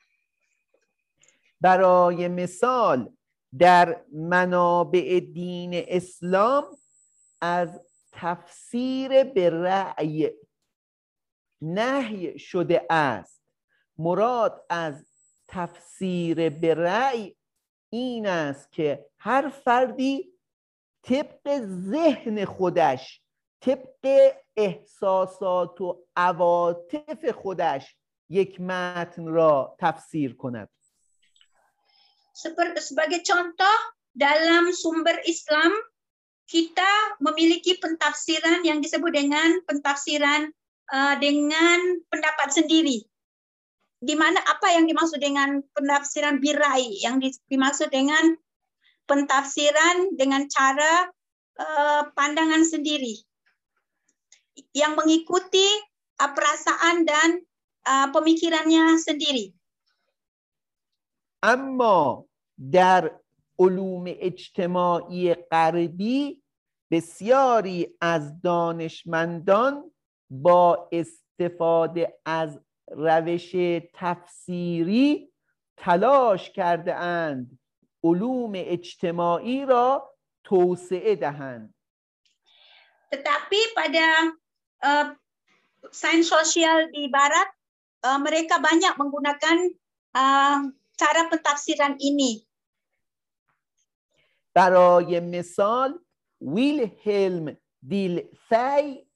برای مثال در منابع دین اسلام از تفسیر به رأی نهی شده است. مراد از تفسیر به رأی این است که هر فردی طبق ذهن خودش، طبق احساسات و عواطف خودش یک متن را تفسیر کند. Sebagai contoh, dalam sumber Islam kita memiliki pentafsiran yang disebut dengan pentafsiran uh, dengan pendapat sendiri. Di mana apa yang dimaksud dengan penafsiran birai, yang dimaksud dengan pentafsiran dengan cara uh, pandangan sendiri yang mengikuti uh, perasaan dan uh, pemikirannya sendiri. اما در علوم اجتماعی غربی بسیاری از دانشمندان با استفاده از روش تفسیری تلاش کرده اند علوم اجتماعی را توسعه دهند. Tetapi pada uh, sains sosial di Barat, uh, mereka banyak menggunakan uh, cara pentafsiran ini. برای مثال ویلهلم دیلفی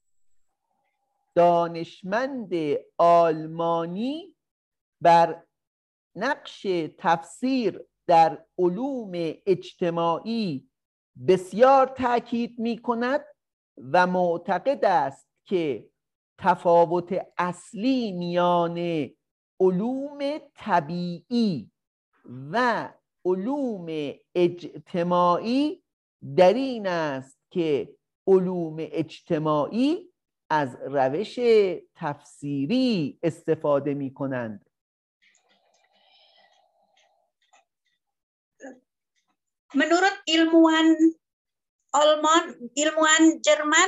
دانشمند آلمانی بر نقش تفسیر در علوم اجتماعی بسیار تاکید می کند و معتقد است که تفاوت اصلی میان علوم طبیعی و علوم اجتماعی در این است که علوم اجتماعی از روش تفسیری استفاده می کنند. Menurut ilmuwan Alman, ilmuwan Jerman,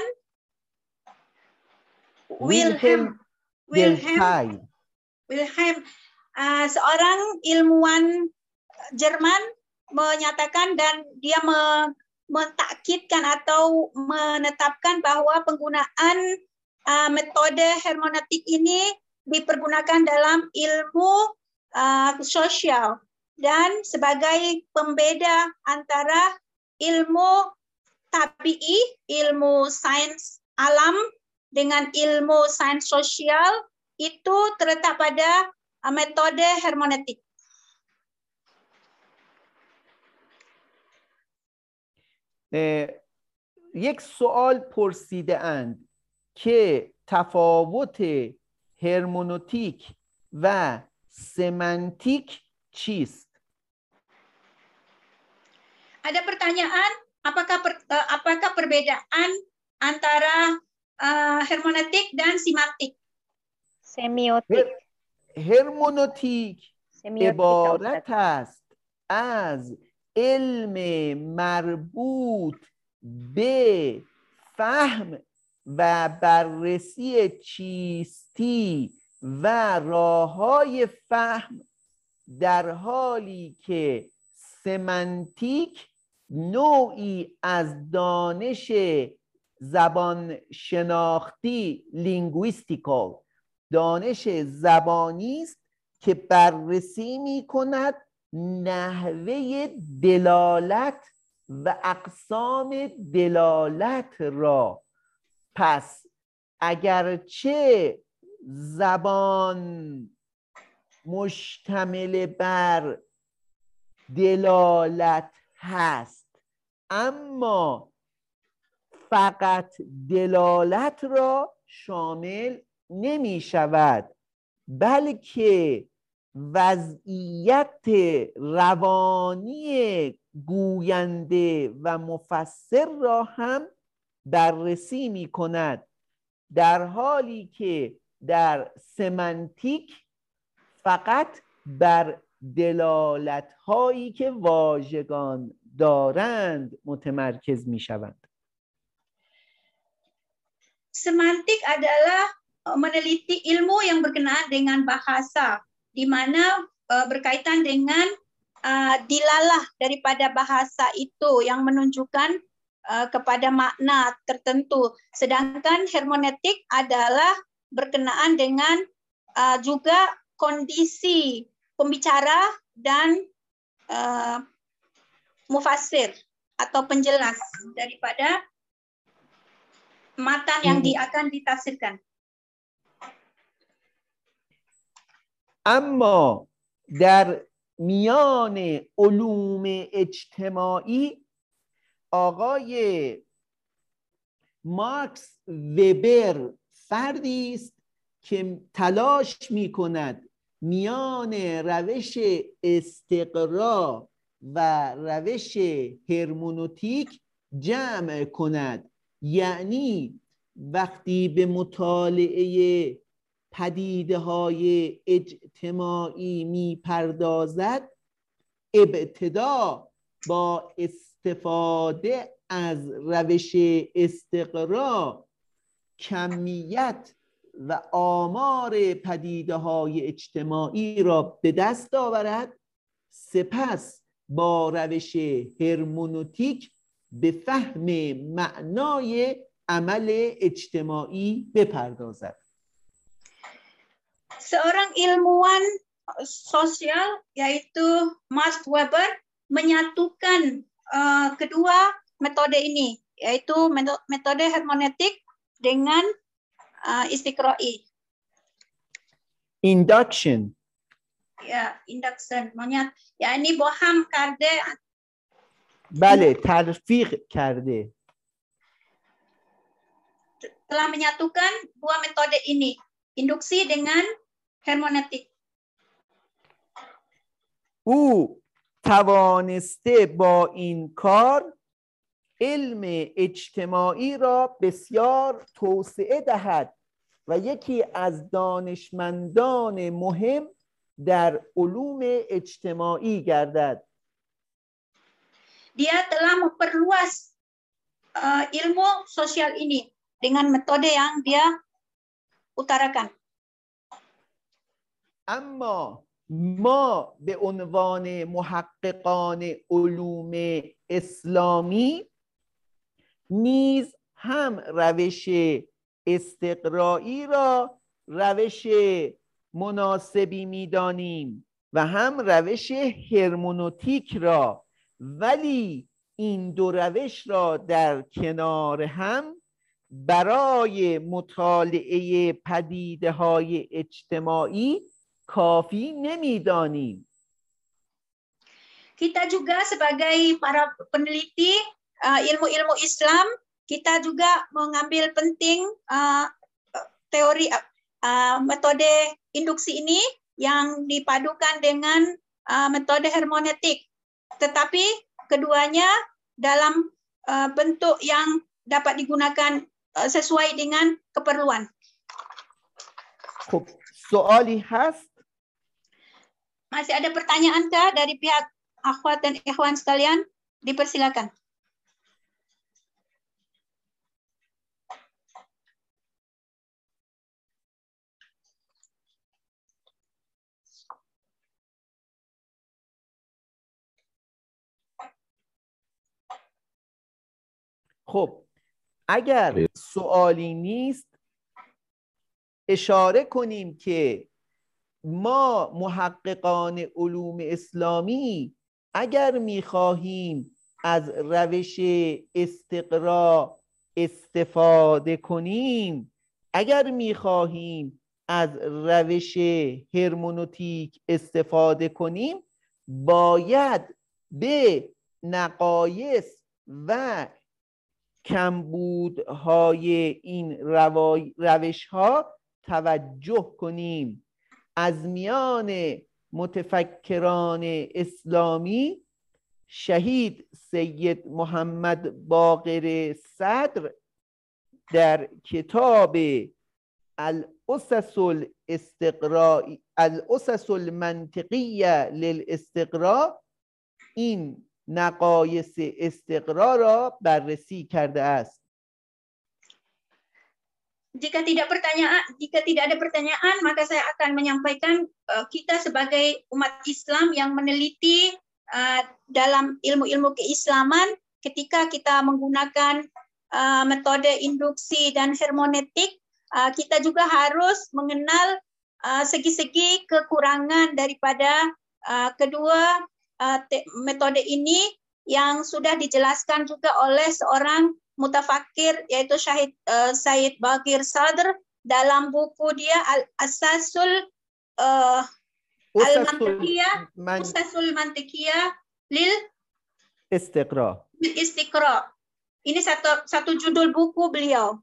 Wilhelm Wilhelm Wilhelm uh, seorang ilmuwan Jerman menyatakan dan dia me, mentakkidkan atau menetapkan bahwa penggunaan uh, metode hermeneutik ini dipergunakan dalam ilmu uh, sosial dan sebagai pembeda antara ilmu tabi'i, ilmu sains alam dengan ilmu sains sosial itu terletak pada uh, metode hermeneutik. یک سوال پرسیده اند که تفاوت هرمنوتیک و سمنتیک چیست؟ Ada pertanyaan, apakah per, apakah perbedaan antara uh, hermeneutik dan simaktik? semiotik. هرمنوتیک عبارت است از علم مربوط به فهم و بررسی چیستی و راه‌های فهم، در حالی که سمنتیک نوعی از دانش زبان شناختی لینگویستیکال، دانش زبانی است که بررسی می کند نحوه دلالت و اقسام دلالت را. پس اگرچه زبان مشتمل بر دلالت هست، اما فقط دلالت را شامل نمی شود، بلکه وضعیت روانی گوینده و مفسر را هم بررسی می کند، در حالی که در سمنتیک فقط بر دلالت هایی که واژگان دارند متمرکز می شوند. Semantik adalah meneliti ilmu yang berkenaan dengan bahasa, di mana uh, berkaitan dengan uh, dilalah daripada bahasa itu yang menunjukkan uh, kepada makna tertentu. Sedangkan hermeneutik adalah berkenaan dengan uh, juga kondisi pembicara dan uh, mufassir atau penjelas daripada matan yang di, akan ditafsirkan. اما در میان علوم اجتماعی آقای مارکس وبر فردی است که تلاش می کند میان روش استقرا و روش هرمنوتیک جمع کند. یعنی وقتی به مطالعه پدیده های اجتماعی می پردازد، ابتدا با استفاده از روش استقرا کمیت و آمار پدیده های اجتماعی را به دست آورد، سپس با روش هرمنوتیک به فهم معنای عمل اجتماعی بپردازد. Seorang ilmuwan sosial yaitu Max Weber menyatukan uh, kedua metode ini, yaitu metode hermeneutik dengan uh, istiqra'i. Induction. Ya, induction. Menyat, ya ini boham karde. بله، تلفیق کرده. Telah menyatukan dua metode ini, induksi dengan hermeneutik. او توانسته با این کار علم اجتماعی را بسیار توسعه دهد و یکی از دانشمندان مهم در علوم اجتماعی گردد. Dia telah memperluas uh, ilmu sosial ini dengan metode yang dia utarakan. اما ما به عنوان محققان علوم اسلامی نیز هم روش استقرایی را روش مناسبی می‌دانیم و هم روش هرمنوتیک را، ولی این دو روش را در کنار هم برای مطالعه پدیده‌های اجتماعی کافی نمی‌دانیم. Kita juga sebagai para peneliti uh, ilmu-ilmu Islam, kita juga mengambil penting uh, teori uh, metode induksi ini yang dipadukan dengan uh, metode hermeneutik. Tetapi keduanya dalam uh, bentuk yang dapat digunakan uh, sesuai dengan keperluan. خب سوالی هست؟ Masih ada pertanyaan kah dari pihak akhwat dan ikhwan sekalian? Dipersilakan. خب اگر سوالی نیست اشاره کنیم که ما محققان علوم اسلامی اگر می‌خواهیم از روش استقرا استفاده کنیم، اگر می‌خواهیم از روش هرمنوتیک استفاده کنیم، باید به نقایص و کمبودهای این روش‌ها توجه کنیم. از میان متفکران اسلامی شهید سید محمد باقر صدر در کتاب الاسس الاستقراء الاسس المنطقیه للاستقراء این نقایص استقرا را بررسی کرده است. Jika tidak pertanyaan, jika tidak ada pertanyaan, maka saya akan menyampaikan uh, kita sebagai umat Islam yang meneliti uh, dalam ilmu-ilmu keislaman, ketika kita menggunakan uh, metode induksi dan hermeneutik, uh, kita juga harus mengenal segi-segi uh, kekurangan daripada uh, kedua uh, metode ini yang sudah dijelaskan juga oleh seorang mutafakir yaitu Syahid uh, Said Bakir Sadr dalam buku dia Al-Asasul uh, Al-Mantiqiyah, Usasul Mantiqiyah lil Istiqra. Istiqra. Ini satu satu judul buku beliau.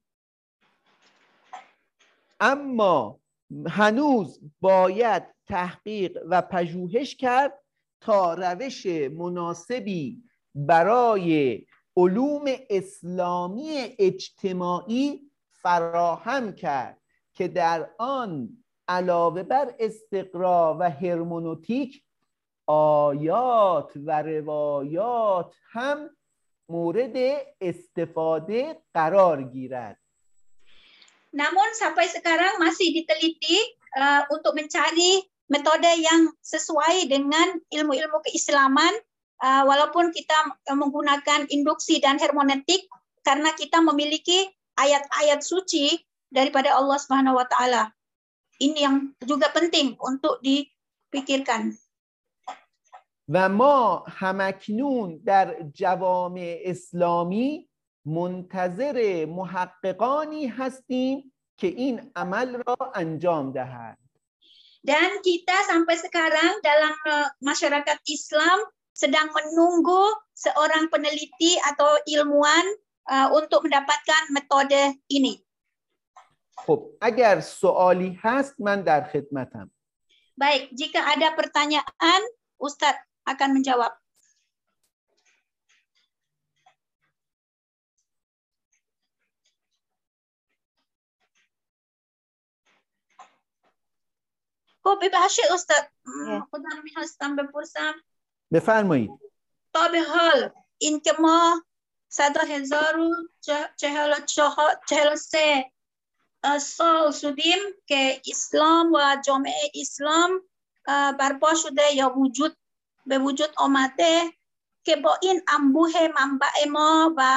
اما هنوز باید تحقیق و پژوهش کرد تا روش مناسبی برای علوم اسلامی اجتماعی فراهم کرد که در آن علاوه بر استقرا و هرمنوتیک آیات و روایات هم مورد استفاده قرار گیرد. Namun sampai sekarang masih diteliti uh, untuk mencari metode yang sesuai dengan ilmu-ilmu keislaman, uh, walaupun kita menggunakan induksi dan hermeneutik karena kita memiliki ayat-ayat suci daripada Allah Subhanahu wa taala. Ini yang juga penting untuk dipikirkan. و ما همکنون در جوامع اسلامی منتظر محققانی هستیم که این عمل را انجام دهند. Dan kita sampai sekarang dalam masyarakat Islam sedang menunggu seorang peneliti atau ilmuwan uh, untuk mendapatkan metode ini. خب اگر سوالی هست من در خدمتم. Baik, jika ada pertanyaan, Ustadz akan menjawab. خب ببخشید استاد خودم میخواستم بپرسم. بفرمایید. تا به حال این که ما صد هزار و چهل و سه سال شدیم که اسلام و جامعه اسلام برپا شده یا وجود به وجود آمده که با این انبوه منبع ما و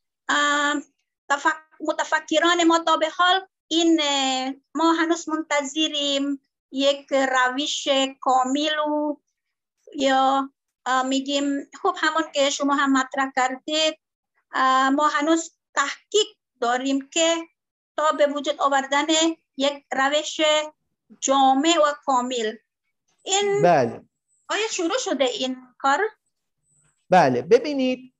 متفکران ما تا به حال این ما هنوز منتظریم یک روش کامل و یا میگیم خب همون که شما هم مطرح کردید ما هنوز تحقیق داریم که تا به وجود آوردن یک روش جامع و کامل. این بله. آیا شروع شده این کار؟ بله ببینید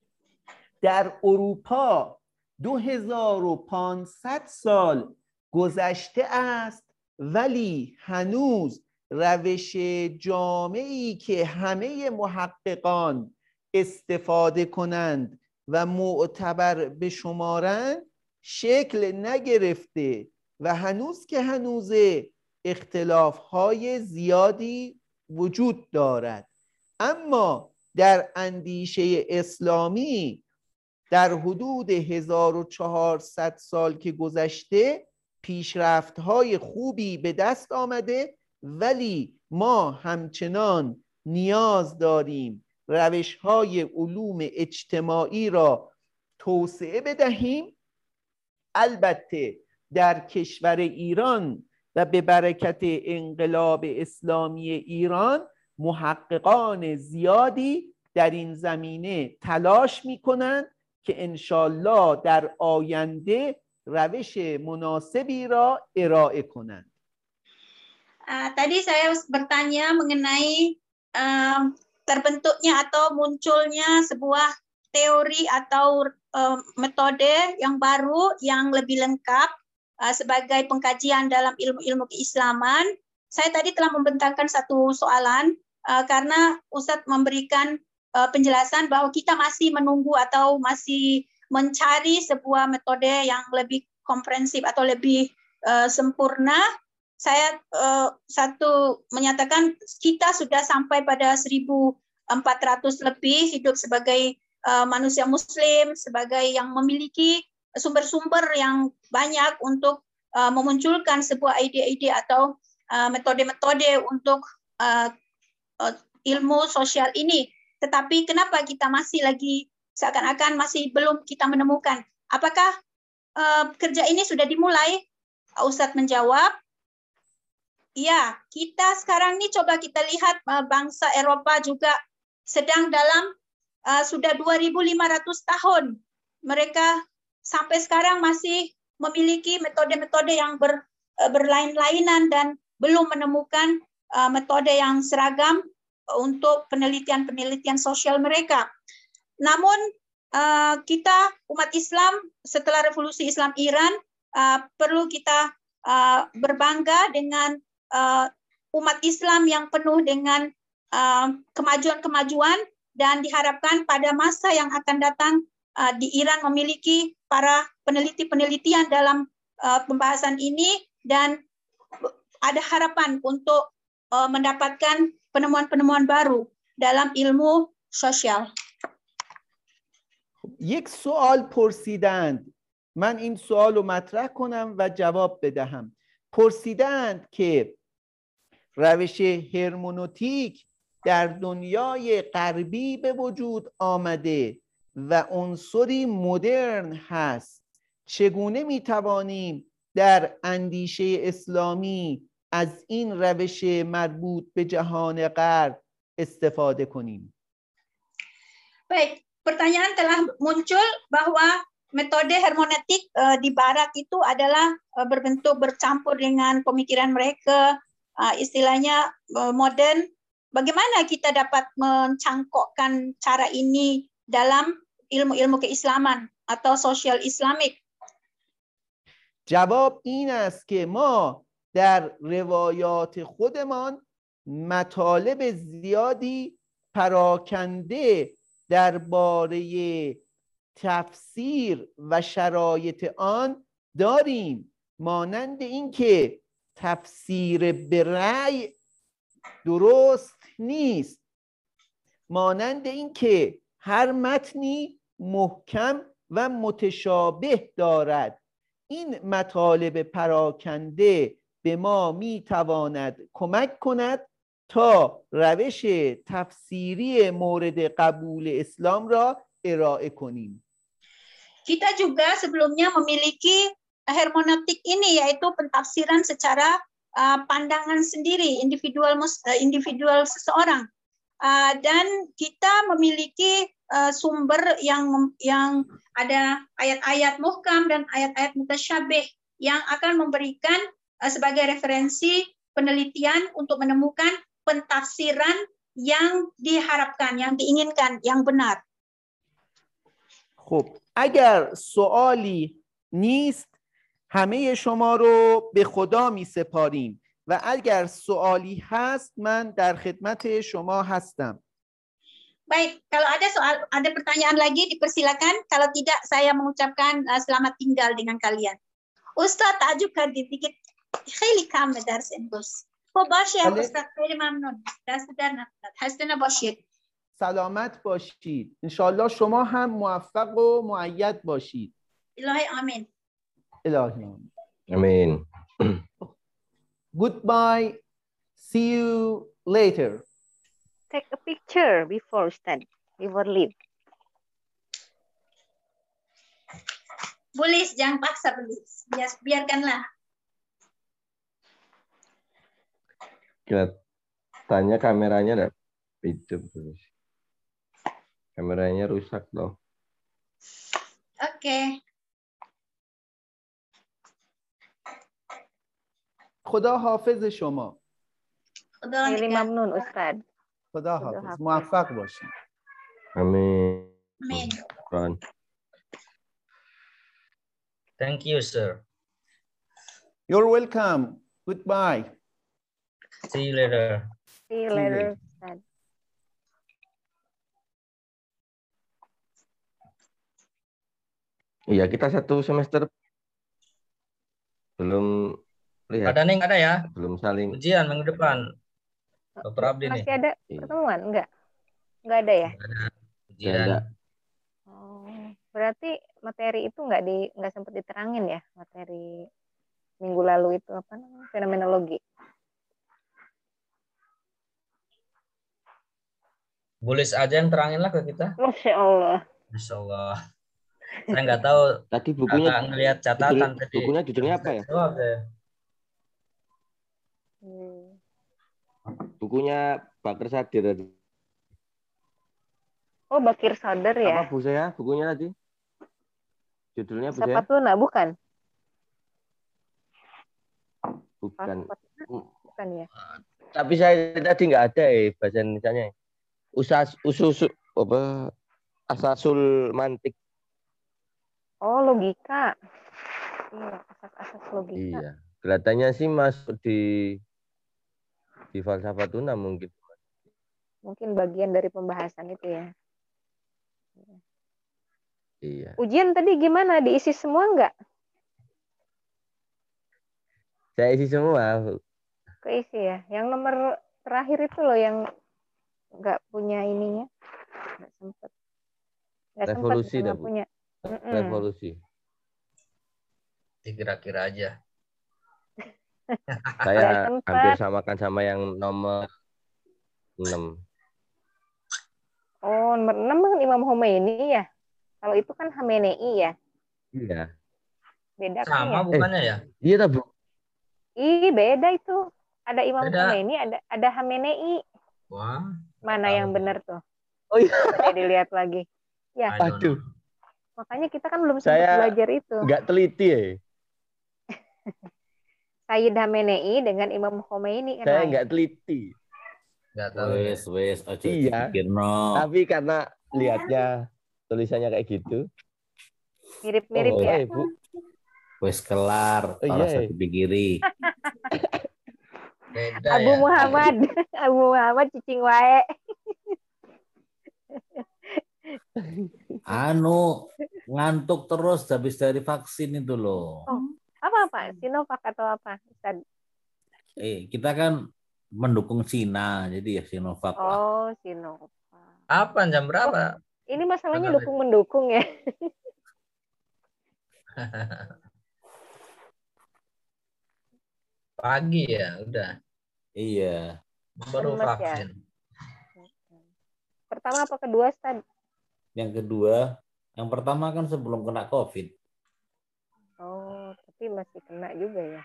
در اروپا دو هزار و پانصد سال گذشته است ولی هنوز روش جامعی که همه محققان استفاده کنند و معتبر بشمارند شکل نگرفته و هنوز که هنوزه اختلاف‌های زیادی وجود دارد. اما در اندیشه اسلامی در حدود هزار و چهارصد سال که گذشته پیشرفت‌های خوبی به دست آمده ولی ما همچنان نیاز داریم روش‌های علوم اجتماعی را توسعه بدهیم. البته در کشور ایران و به برکت انقلاب اسلامی ایران محققان زیادی در این زمینه تلاش می‌کنند که انشالله در آینده روش مناسبی را ارائه کنند. Uh, tadi saya bertanya mengenai uh, terbentuknya atau munculnya sebuah teori atau uh, metode yang baru yang lebih lengkap uh, sebagai pengkajian dalam ilmu-ilmu keislaman. Saya tadi telah membentangkan satu soalan uh, karena Ustadz memberikan uh, penjelasan bahwa kita masih menunggu atau masih mencari sebuah metode yang lebih komprehensif atau lebih uh, sempurna. Saya uh, satu menyatakan kita sudah sampai pada seribu empat ratus lebih hidup sebagai uh, manusia muslim, sebagai yang memiliki sumber-sumber yang banyak untuk uh, memunculkan sebuah ide-ide atau metode-metode uh, untuk uh, uh, ilmu sosial ini. Tetapi kenapa kita masih lagi seakan-akan masih belum kita menemukan? Apakah uh, kerja ini sudah dimulai? Ustadz menjawab, ya, kita sekarang ini coba kita lihat uh, bangsa Eropa juga sedang dalam uh, sudah dua ribu lima ratus tahun. Mereka sampai sekarang masih memiliki metode-metode yang ber, uh, berlain-lainan dan belum menemukan uh, metode yang seragam untuk penelitian-penelitian sosial mereka. Namun uh, kita umat Islam setelah revolusi Islam Iran uh, perlu kita uh, berbangga dengan uh, umat Islam yang penuh dengan kemajuan-kemajuan uh, dan diharapkan pada masa yang akan datang uh, di Iran memiliki para peneliti-penelitian dalam uh, pembahasan ini dan ada harapan untuk uh, mendapatkan penemuan-penemuan baru dalam ilmu sosial. یک سوال پرسیدند، من این سوال رو مطرح کنم و جواب بدهم. پرسیدند که روش هرمنوتیک در دنیای غربی به وجود آمده و عنصری مدرن هست، چگونه میتوانیم در اندیشه اسلامی از این روش مربوط به جهان غرب استفاده کنیم؟ Baik, pertanyaan telah muncul bahwa metode hermeneutik uh, di Barat itu adalah uh, berbentuk bercampur dengan pemikiran mereka, uh, istilahnya uh, modern. Bagaimana kita dapat mencangkokkan cara ini dalam ilmu-ilmu keislaman atau sosial Islamik? جواب این است که ما در روایات خودمان مطالب زیادی پراکنده درباره تفسیر و شرایط آن داریم، مانند اینکه تفسیر به رأی درست نیست، مانند اینکه هر متنی محکم و متشابه دارد. این مطالب پراکنده به ما میتواند کمک کند تا روش تفسیری مورد قبول اسلام را ارائه کنیم. Kita juga sebelumnya memiliki hermeneutik ini, yaitu pentafsiran secara uh, pandangan sendiri, individual uh, individual seseorang. Uh, dan kita memiliki uh, sumber yang yang ada ayat-ayat muhkam dan ayat-ayat mutasyabih yang akan memberikan uh, sebagai referensi penelitian untuk menemukan pentafsiran yang diharapkan, yang diinginkan, yang benar. خب اگر سوالی نیست همه شما رو به خدا می سپاریم و اگر سوالی هست من در خدمت شما هستم. Baik, kalau ada soal, ada pertanyaan lagi dipersilakan. Kalau tidak, saya mengucapkan uh, selamat tinggal dengan kalian. Ustaz تعجب کردید دیگه خیلی کم درس امروز. خب باشه استاد، خیلی ممنون. دست در نکنید. خسته نباشید. سلامت باشید. انشالله شما هم موفق و مؤید باشید. الهی آمین. الهی آمین. آمین. Goodbye. See you later. Take a picture before study, before leave. Bulis, jangan paksa Bulis. Biar, biarkanlah. Kita tanya kameranya ada hidup terus. Kameranya rusak loh. Oke. Okay. خدا حافظ شما. خدا خیلی ممنون استاد. خدا حافظ. موفق باشید. Amin. Amin. Ron. Thank you, sir. You're welcome. Goodbye. See you later. See you later, Ustaz. Iya, kita satu semester belum lihat. Ada nih, ada ya? Belum saling. Ujian minggu depan. Dokter Abdi nih. Masih ada pertemuan? Enggak? Enggak ada ya? Ada ujian. Ada. Oh, berarti materi itu enggak di enggak sempat diterangin ya, materi minggu lalu itu apa namanya? Fenomenologi. Bulis aja yang terangin lah ke kita. Masya Allah. Masya Allah. Saya nggak tahu. Tadi bukunya agak ngelihat catatan judul, tadi. Bukunya judulnya apa ya? Oh, okay. Hmm. Bukunya Bakir Sadir tadi. Oh, Bakir Sadir ya? Apa Bu saya? Bukunya tadi? Judulnya Bu saya? Sapatuna, bukan? Bukan. Bukan ya? Tapi saya tadi nggak ada eh bahasa Indonesianya. Usas usus apa asasul mantik. Oh, logika. Iya, asas-asas logika. Iya. Kelihatannya sih masuk di di falsafah tuna mungkin. Mungkin bagian dari pembahasan itu ya. Iya. Ujian tadi gimana? Diisi semua nggak? Saya isi semua. Keisi ya. Yang nomor terakhir itu loh yang nggak punya ininya. Nggak sempet. Nggak sempet, Revolusi bukan dah, nggak Bu. punya. Mm-mm. Revolusi. Dikira-kira aja. Nggak Saya sempet. hampir samakan sama yang nomor enam. Oh, nomor enam kan Imam Khomeini ya. Kalau itu kan Khamenei ya. Iya. Beda kan Sama ya? bukannya ya? Iya dah, Bu. Ih, beda itu. Ada Imam Beda. Khomeini, ada ada Khamenei. Wah. Mana tahu. yang benar tuh? Oh iya. Saya dilihat lagi. Ya, I don't know. Aduh. makanya kita kan belum sempat Saya belajar itu. nggak teliti ya. Sayyid Khamenei dengan Imam Khomeini kan Saya lain. nggak teliti. Nggak tahu ya. Wes, wes, ojo Iya. dipikir no. Tapi karena lihatnya tulisannya kayak gitu. Mirip-mirip Oh, ya. eh, Bu. Wes kelar, Oh, ora iya. usah dipikiri. Beda Abu ya. Muhammad, Abu Muhammad cicing wae. Anu ngantuk terus habis dari vaksin itu loh. Oh, apa apa? Sinovac atau apa? Ustaz? Eh, kita kan mendukung Cina, jadi ya Sinovac lah. Oh, Sinovac. Apa jam berapa? Ini masalahnya Benar. dukung-mendukung ya. Pagi ya, udah. Iya. Baru Lemes ya? vaksin. Pertama apa kedua, Ustaz? Yang kedua, yang pertama kan sebelum kena COVID. Oh, tapi masih kena juga ya.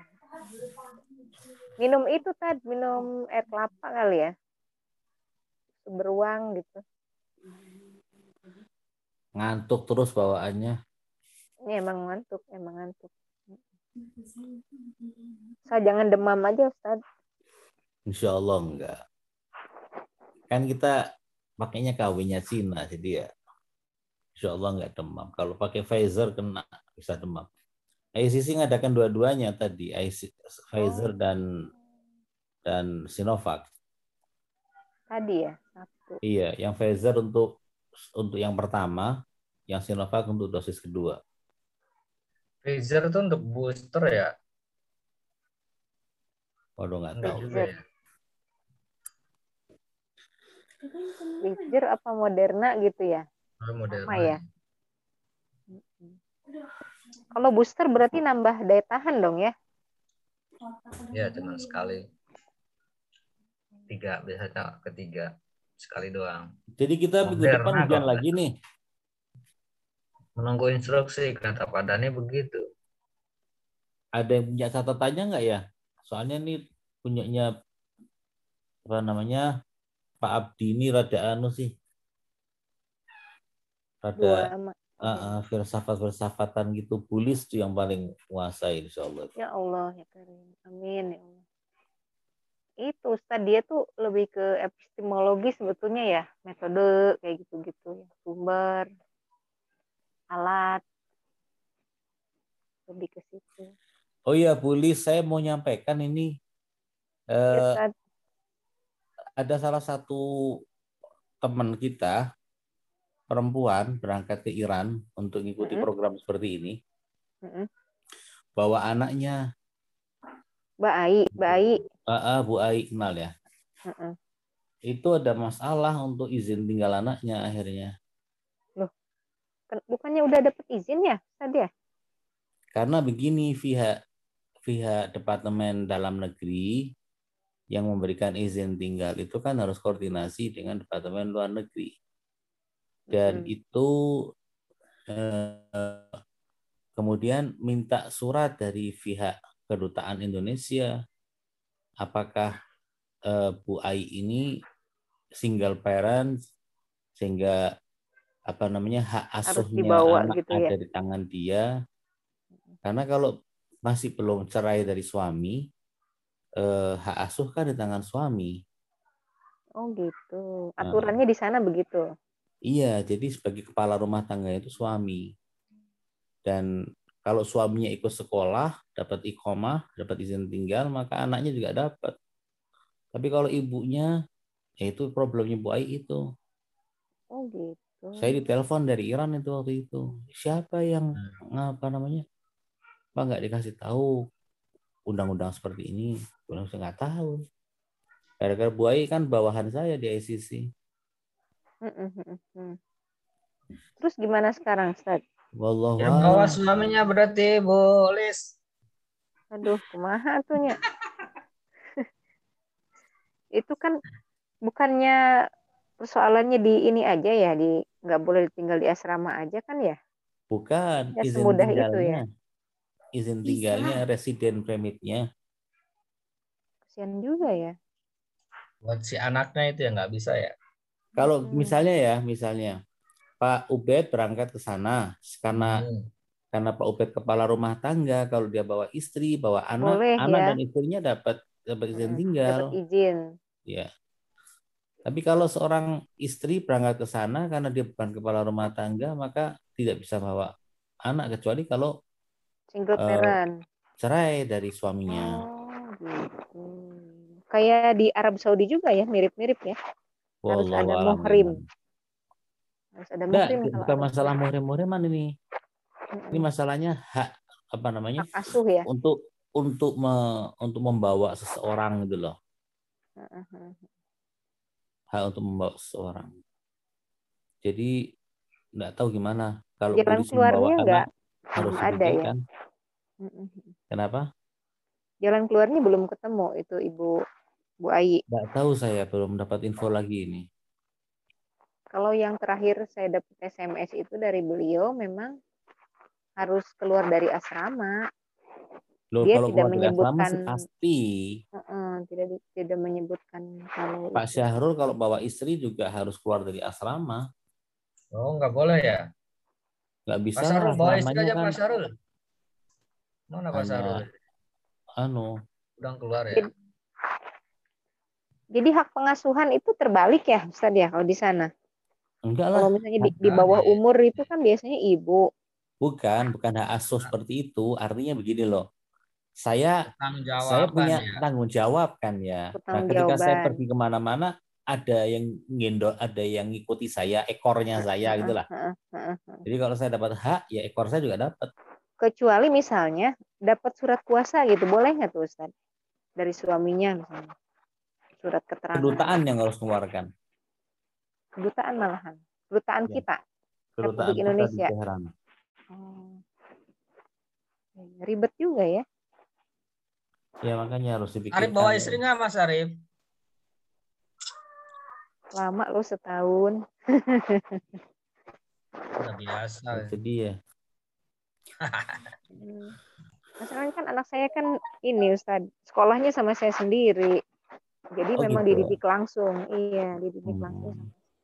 Minum itu Tad, minum air kelapa kali ya. Beruang gitu. Ngantuk terus bawaannya. Ini emang ngantuk, emang ngantuk. Saya jangan demam aja, Ustaz. Insya Allah enggak. Kan kita pakainya K W-nya Cina, jadi ya insya Allah enggak demam. Kalau pakai Pfizer kena bisa demam. I C C ngadakan dua-duanya tadi, Pfizer dan dan Sinovac. Tadi ya, satu. Iya, yang Pfizer untuk untuk yang pertama, yang Sinovac untuk dosis kedua. Pfizer itu untuk booster ya? Waduh nggak Enggak tahu. juga ya. Pfizer apa Moderna gitu ya? Oh, Moderna. Apa ya? Kalau booster berarti nambah daya tahan dong ya? Ya, cuma sekali. Tiga, biasanya ketiga. Sekali doang. Jadi kita minggu Moderna depan hujan kok. lagi nih. Menunggu instruksi, kata Pak Dhani begitu. Ada yang punya catatannya nggak ya? Soalnya nih punyanya apa namanya Pak Abdi ini rada anu sih, rada Dua, uh, uh, filsafat-filsafatan gitu, bulis tuh yang paling menguasai insya Allah. ya Allah ya Karim. Amin ya Allah. Itu Ustaz dia tuh lebih ke epistemologi sebetulnya ya, metode kayak gitu-gitu ya, sumber, alat, lebih ke situ. Oh iya, bulis, saya mau nyampaikan ini Ya, uh, Ustaz. ada salah satu teman kita perempuan berangkat ke Iran untuk mengikuti Mm-mm. program seperti ini, Mm-mm. bawa anaknya. Mbak Ai, Mbak Ai. Uh, uh, Bu Ai kenal ya. Mm-mm. Itu ada masalah untuk izin tinggal anaknya akhirnya. Loh, bukannya udah dapet izin ya tadi ya? Karena begini, pihak pihak Departemen Dalam Negeri yang memberikan izin tinggal itu kan harus koordinasi dengan Departemen Luar Negeri. Dan Mm-hmm. itu eh, kemudian minta surat dari pihak Kedutaan Indonesia. Apakah eh, Bu Ai ini single parent sehingga apa namanya hak asuhnya dibawa anak gitu ada ya? di tangan dia. Karena kalau masih belum cerai dari suami, eh, hak asuh kan di tangan suami. Oh gitu. Nah, Aturannya di sana begitu. iya, jadi sebagai kepala rumah tangga itu suami. Dan kalau suaminya ikut sekolah, dapat iqomah, dapat izin tinggal, maka anaknya juga dapat. Tapi kalau ibunya, ya itu problemnya Bu Ai itu. Oh gitu. Saya ditelepon dari Iran itu waktu itu. Siapa yang apa namanya? Pak nggak dikasih tahu undang-undang seperti ini? Saya nggak tahu. Gara-gara Bu Ai kan bawahan saya di I C C. Terus gimana sekarang, Ustaz? Wallahu Ya bawa a'lam. suaminya berarti Bu Lis. Aduh, kumaha atunya. Itu kan bukannya persoalannya di ini aja ya, di nggak boleh tinggal di asrama aja kan ya? Bukan Ya izin semudah itu ya. tinggalnya. Izin tinggalnya residen permitnya. Kasian juga ya. Buat si anaknya itu ya nggak bisa ya. Kalau Hmm. misalnya ya, misalnya Pak Ubed berangkat ke sana karena Hmm. karena Pak Ubed kepala rumah tangga, kalau dia bawa istri, bawa anak, Boleh anak ya. dan istrinya dapat dapat izin Hmm, tinggal. dapat izin. Ya. Tapi kalau seorang istri berangkat ke sana karena dia bukan kepala rumah tangga, maka tidak bisa bawa anak kecuali kalau Single eh, parent. cerai dari suaminya. Oh, gitu. Kayak di Arab Saudi juga ya, mirip-mirip ya. Harus Wallahu ada a'lam. muhrim. Harus ada Nggak, muhrim kalau bukan Arab masalah Saudi. muhrim-muhriman ini. Mm-mm. Ini masalahnya hak apa namanya? Hak asuh ya. Untuk untuk me- untuk membawa seseorang gitu loh. Uh-uh. Hak untuk membawa seseorang. Jadi nggak tahu gimana kalau Jalan polisi keluarnya membawa nggak anak harus belum ada ya. dipikirkan. Mm-mm. Kenapa? Jalan keluarnya belum ketemu itu Ibu Bu Ayi. Nggak tahu, saya belum dapat info lagi ini. Kalau yang terakhir saya dapat S M S itu dari beliau memang harus keluar dari asrama. Loh, Dia kalau tidak keluar dari asrama menyebutkan sih pasti. uh-uh, tidak tidak menyebutkan kalau Pak itu. Syahrul kalau bawa istri juga harus keluar dari asrama. Oh nggak boleh ya. Nggak Pak bisa Syarul lah, bawa istri asramanya aja kan Pak Syarul. Mana Pak hanya Syarul? anu. Udah keluar ya. Jadi, jadi hak pengasuhan itu terbalik ya Ustaz ya kalau di sana. Enggak lah. Kalau misalnya di, di bawah umur itu kan biasanya ibu. Bukan, bukan hak asuh seperti itu. Artinya begini loh. Saya Tanggung saya jawaban punya ya. tanggung jawab kan ya. Nah, Pertanggung ketika saya jawaban. pergi kemana-mana, ada yang ngendor, ada yang ngikuti saya, ekornya saya gitu lah. Uh, uh, uh, uh. Jadi kalau saya dapat hak, ya ekor saya juga dapat. Kecuali misalnya dapat surat kuasa gitu, boleh nggak tuh Ustaz? Dari suaminya misalnya. Surat keterangan. Kedutaan yang harus mengeluarkan. Kedutaan malahan. Kedutaan Ya. kita. Kedutaan Republik kita Indonesia. di Teheran. Oh. Ribet juga ya. Ya makanya harus dipikirkan. Arif bawa istri nggak Mas Arif? Lama lo setahun. Udah biasa. Itu dia. Masalahnya kan anak saya kan ini Ustaz, sekolahnya sama saya sendiri. Jadi Oh, memang gitu. dididik langsung. Iya, dididik Hmm. langsung.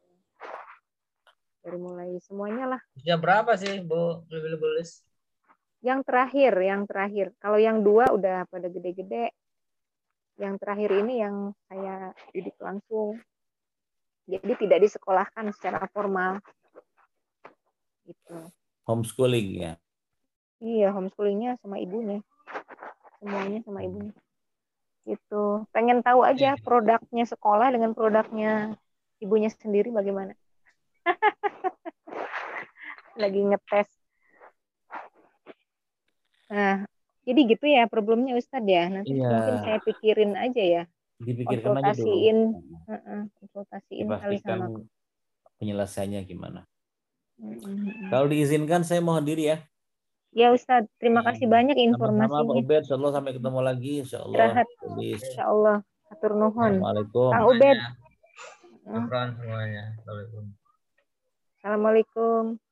Dari mulai semuanya lah. Usia berapa sih Bu Lilis? Yang terakhir, yang terakhir. Kalau yang dua udah pada gede-gede. Yang terakhir ini yang saya didik langsung. Jadi tidak disekolahkan secara formal. Gitu. Homeschooling ya. Iya, homeschoolingnya sama ibunya. Semuanya sama ibunya. Gitu. Pengen tahu aja produknya sekolah dengan produknya ibunya sendiri bagaimana. Lagi ngetes. Nah, jadi gitu ya problemnya Ustadz ya. Nanti Iya. mungkin saya pikirin aja ya. Dipikirkan aja dulu. Konsultasiin, uh-uh, konsultasiin kali Dipastikan sama. penyelesaiannya gimana. Mm-hmm. Kalau diizinkan saya mohon diri ya. Ya Ustadz, terima Ya. kasih banyak Sama-sama Pak informasinya. Ubed, insyaallah sampai ketemu lagi insyaallah. Istirahat. Habis. Insyaallah. Atur nuhun. Assalamualaikum. Kang Ubed. Syukran semuanya. Assalamualaikum. Assalamualaikum.